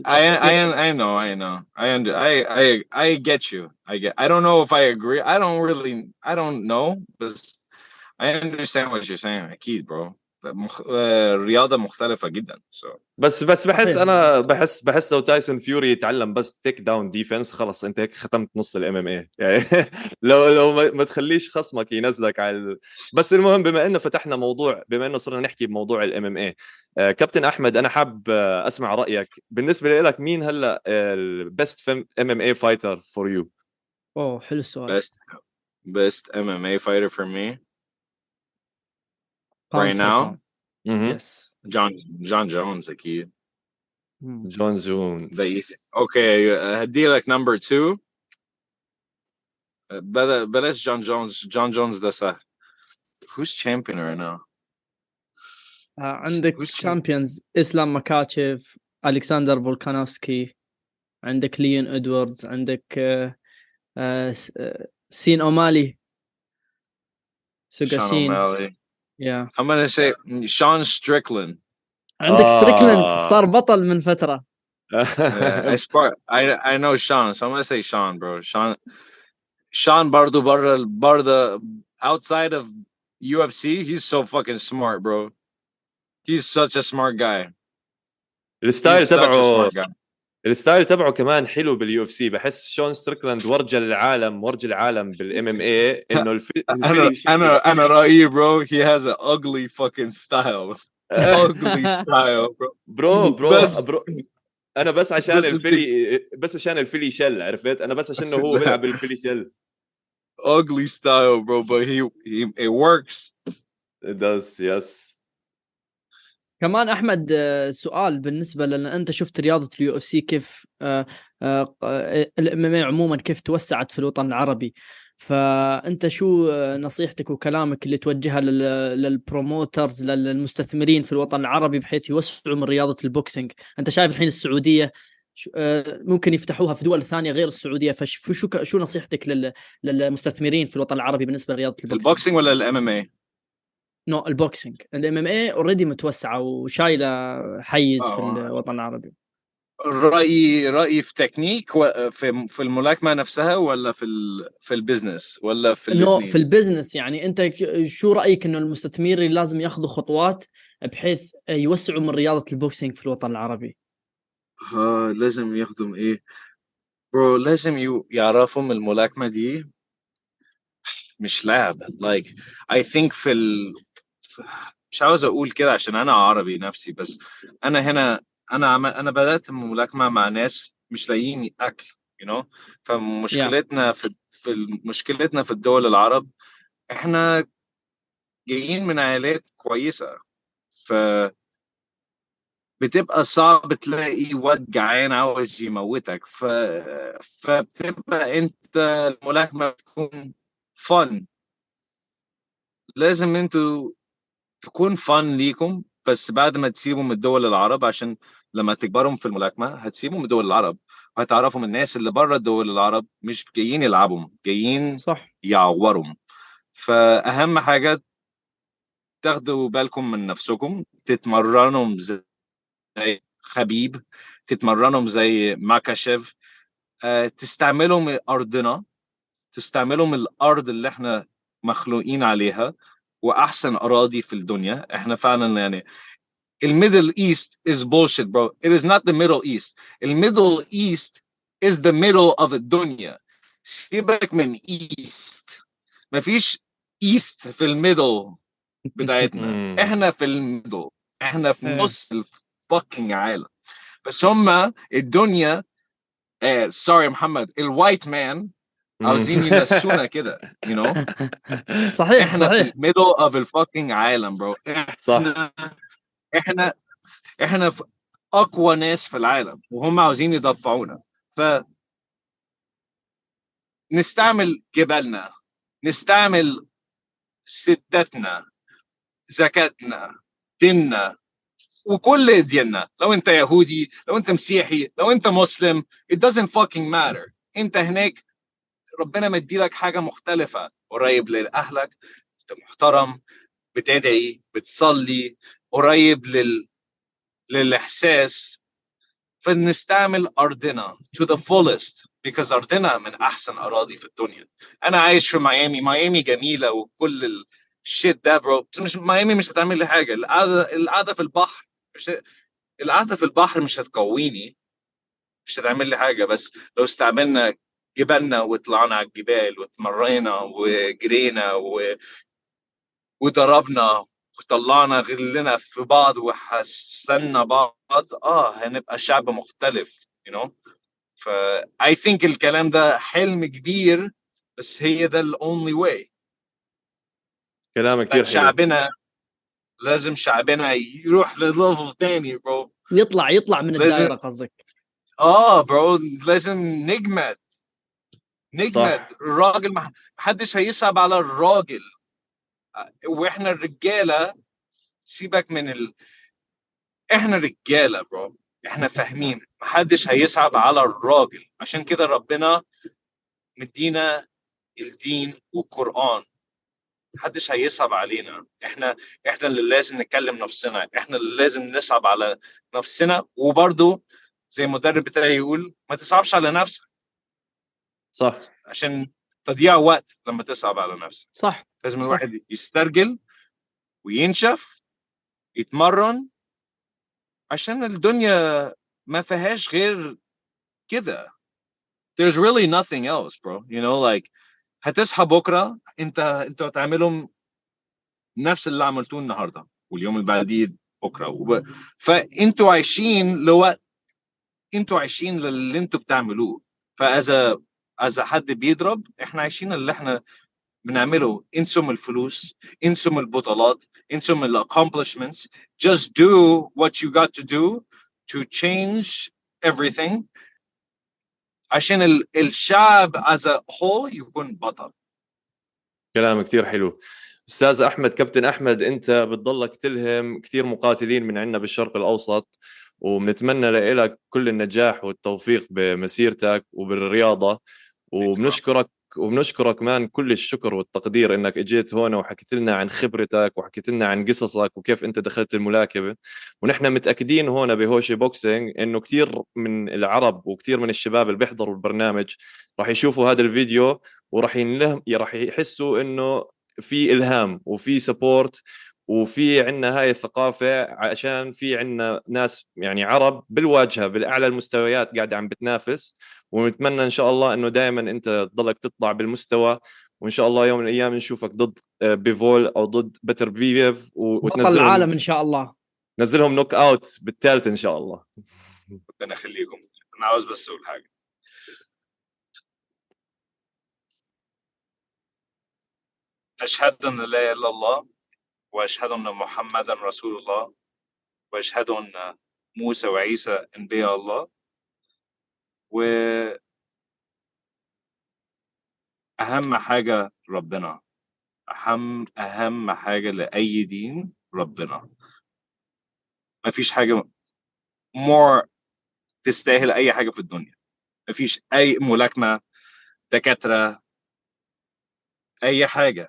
I get you. I don't know if I agree. I don't know, but I understand what you're saying. أكيد bro. رياضة مختلفة جدا. بس بحس انا بحس لو تايسون فيوري يتعلم بس تيك داون ديفنس خلص انت هيك ختمت نص الMMA يعني. لو ما تخليش خصمك ينزلك على بس المهم بما انه فتحنا موضوع، بما انه صرنا نحكي بموضوع الMMA، كابتن احمد انا حاب اسمع رايك بالنسبه لك، مين هلا البست MMA فايتر فور يو؟ حلو السؤال. best MMA fighter for me pound right for now. pound. Yes. John Jones أكيد. جون جونز. Okay, هدي لك number 2. بلاش John Jones ده سهل. Who's champion right now? عندك champions إسلام مكاتشيف، ألكسندر فولكانوفسكي، عندك ليون إدواردز، عندك سين أومالي، سوغاسين. Yeah. I'm gonna say Sean Strickland. عندك ستريكلاند صار بطل من فترة. I know Sean, so I'm gonna say Sean, bro. Sean برضو برضه outside of UFC, he's so fucking smart, bro. He's such a smart guy. الستايل تبعه كمان حلو بالUFC. بحس شون ستريكلاند ورجى العالم بالMMA انه الفيلي انا رأيي bro, he has an ugly fucking style. ugly style, bro. برو انا بس عشان الفيلي شل، عرفت؟ انا بس عشان هو بيلعب بالفيلي شل. ugly style, bro, but it works. It does, yes. كمان أحمد سؤال بالنسبة لأن أنت شفت رياضة الUFC كيف الMMA عموما كيف توسعت في الوطن العربي، فأنت شو نصيحتك وكلامك اللي توجهها للبروموترز للمستثمرين في الوطن العربي بحيث يوسعوا من رياضة البوكسينج؟ أنت شايف الحين السعودية ممكن يفتحوها في دول ثانية غير السعودية، فشو نصيحتك للمستثمرين في الوطن العربي بالنسبة لرياضة البوكسينج ولا الMMA؟ البوكسينج. الMMA اوريدي متوسعه وشايله حيز في الوطن العربي. رأيي في تكنيك في الملاكمة نفسها ولا في البيزنس ولا في الاثنين؟ في البيزنس يعني. انت شو رأيك انه المستثمرين لازم ياخذوا خطوات بحيث يوسعوا من رياضة البوكسينج في الوطن العربي؟ لازم ياخذوا ايه برو؟ لازم يعرفوا من الملاكمة دي مش لعب. like I think مش عاوز اقول كده عشان انا عربي نفسي، بس انا هنا انا بدأت الملاكمة مع ناس مش لاقيين اكل، you know. فمشكلتنا مشكلتنا في الدول العرب، احنا جايين من عائلات كويسة، بتبقى صعب تلاقي واد جعان عاوز يموتك، فبتبقى انت الملاكمة بتكون fun. لازم انتوا تكون فن ليكم، بس بعد ما تسيبوا من الدول العرب، عشان لما تكبروا في الملاكمة هتسيبوا من دول العرب، وهتعرفوا من الناس اللي بره الدول العرب مش جايين يلعبوا، جايين صح. يعوروا. فأهم حاجة تاخدوا بالكم من نفسكم، تتمرنوا زي خبيب، تتمرنوا زي ماكاشيف، تستعملوا من أرضنا، تستعملوا من الأرض اللي احنا مخلوقين عليها، وأحسن أراضي في الدنيا. احنا فعلا يعني الميدل ايست is bullshit bro. It is not the middle east. الميدل ايست is the middle of الدنيا. سيبك من ايست، مفيش ايست في الميدل بتاعتنا، احنا في الميدل، احنا في ايه. نص الفاكينج عالم. بس هما الدنيا سوري محمد، الوايت مان عاوزين ينسونا كده you know. صحيح احنا في صحيح. الميدل اوف الفاكينج عالم برو. صح. احنا احنا في اقوى ناس في العالم، وهم عاوزين يدفعونا. فنستعمل جبالنا، نستعمل ستاتنا، زكاتنا، ديننا، وكل ديننا. لو انت يهودي، لو انت مسيحي، لو انت مسلم، it doesn't fucking matter. انت هناك ربنا مديلك حاجة مختلفة، قريب لأهلك، انت محترم، بتدعي، بتصلي، قريب للإحساس. فنستعمل أرضنا to the fullest because أرضنا من أحسن أراضي في الدنيا. أنا عايش في ميامي، ميامي جميلة وكل الشيت ده برو، بس مش ميامي مش هتعمل لي حاجة. القعدة في البحر مش، القعدة في البحر مش هتقويني، مش هتعمل لي حاجة. بس لو استعملنا جبالنا وطلعنا على الجبال واتمرينا وجرينا وضربنا وطلعنا غلنا في بعض وحسنا بعض، هنبقى شعب مختلف you know. ف I think الكلام ده حلم كبير، بس هي ده ال only way. كلام كثير حلو. شعبنا لازم شعبنا يروح لليفل تاني برو. يطلع من لازم الدائره قصدك. برو لازم نجمد، نجمد. صح. الراجل محدش هيصعب على الراجل، واحنا الرجاله سيبك من احنا رجاله برو، احنا فاهمين محدش هيصعب على الراجل. عشان كده ربنا مدينا الدين والقرآن، محدش هيصعب علينا. احنا اللي لازم نكلم نفسنا، احنا اللي لازم نصعب على نفسنا. وبرضو زي المدرب بتاعي يقول ما تصعبش على نفسك، صح. عشان تضييع وقت لما تصعب على نفسك. صح لازم صح. الواحد يسترجل وينشف، يتمرن، عشان الدنيا ما فيهاش غير كده. There's really nothing else bro, you know. like هتصحى بكره انتوا هتعملوا نفس اللي عملتوه النهارده واليوم اللي بعديه بكره فانتوا عايشين لوقت، انتوا عايشين للي انتوا بتعملوه. فاذا حد بيضرب، احنا عايشين اللي احنا بنعمله. انسوا من الفلوس، انسوا من البطولات، انسوا من الاكومبلشمنتس. just do what you got to do to change everything، عشان الشعب as a whole يكون بطل. كلام كثير حلو. استاذ احمد، كابتن احمد، انت بتضلك تلهم كثير مقاتلين من عندنا بالشرق الاوسط، وبنتمنى لك كل النجاح والتوفيق بمسيرتك وبالرياضه. وبنشكرك كمان كل الشكر والتقدير انك اجيت هون وحكيت لنا عن خبرتك وحكيت لنا عن قصصك وكيف انت دخلت الملاكمه. ونحن متاكدين هون بهوشي بوكسينج انه كثير من العرب وكثير من الشباب اللي بيحضروا البرنامج راح يشوفوا هذا الفيديو، وراح راح يحسوا انه في الهام وفي سبورت، وفي عنا هاي الثقافة، عشان في عنا ناس يعني عرب بالواجهة بالأعلى المستويات قاعدة عم بتنافس. ونتمنى إن شاء الله إنه دائما أنت تضلك تطلع بالمستوى، وإن شاء الله يوم من الأيام نشوفك ضد بيفول أو ضد بتر بيفيف بطل العالم ان شاء الله. نزلهم نوك أوت بالثالث إن شاء الله. ربنا يخليكم. انا عاوز بس اقول حاجه. أشهد أن لا إله إلا الله، وأشهد أن محمدا رسول الله، وأشهد أن موسى وعيسى أنبياء الله. وأهم حاجة ربنا، أهم حاجة لأي دين ربنا. مفيش حاجة more تستاهل أي حاجة في الدنيا. مفيش أي ملاكمة، دكاترة، أي حاجة.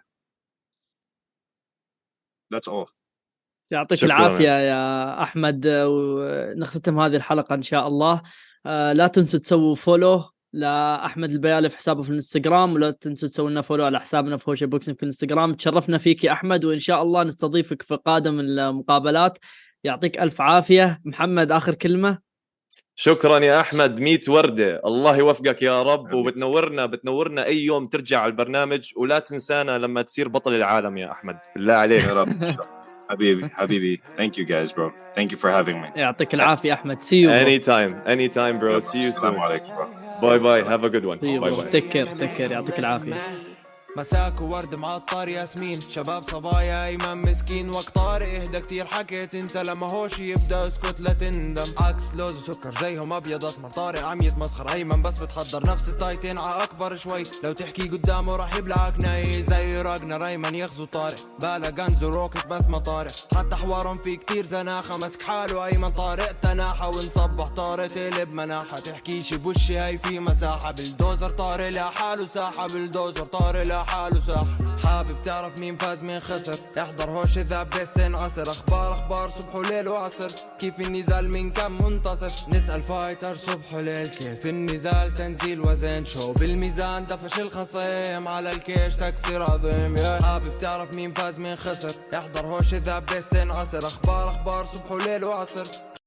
That's all. يعطيك شكراً. العافية يا أحمد، ونختتم هذه الحلقة إن شاء الله. لا تنسوا تسووا فولو لأحمد البيالي في حسابه في الانستغرام، ولا تنسوا تسووا لنا فولو على حسابنا في هوشي بوكسينج في الانستغرام. تشرفنا فيك يا أحمد، وإن شاء الله نستضيفك في قادم المقابلات. يعطيك ألف عافية. محمد، آخر كلمة. شكرا يا احمد، 100 ورده، الله يوفقك يا رب، حبيبي. وبتنورنا اي يوم ترجع على البرنامج، ولا تنسانا لما تصير بطل العالم يا احمد، بالله عليك. يا رب. حبيبي. Thank you guys bro. Thank you for having me. يعطيك العافية أحمد. See you bro. anytime bro. See you السلام soon. عليكم bro. باي have a good one. See you باي bro. باي. Take care. يعطيك العافية. مساك وورد معطر ياسمين، شباب صبايا ايمن مسكين، وقت طارق اهدى كتير حكيت انت، لما هوش يبدا اسكت لا تندم، عكس لوز وسكر زيهم ابيض اسمر، طارق عم يتمسخر، ايمن بس بتحضر نفس التايتين ع اكبر شوي، لو تحكي قدامه راح يبلعك ناي زي راجنر، ايمن يغزو طارق بالا غنز وروكت بس ما طارق، حتى حوارهم في كتير زناخه، مسك حاله ايمن طارق تناحه، ونصبح طارق تقلب مناحه، تحكيش بوشي هاي في مساحه، بالدوزر طارق لحاله ساحه، بالدوزر طارق حاله ساح، حابب تعرف مين فاز مين خسر، احضر هوش اذا بيستين عصر، اخبار صبح وليل وعصر، كيف النزال من كم منتصف، نسأل فايتر صبح وليل، كيف النزال تنزيل وزن، شو بالميزان دفش الخصيم، على الكيش تكسير عظيم، حابب تعرف مين فاز مين خسر، احضر هوش اذا بيستين عصر، اخبار صبح وليل وعصر،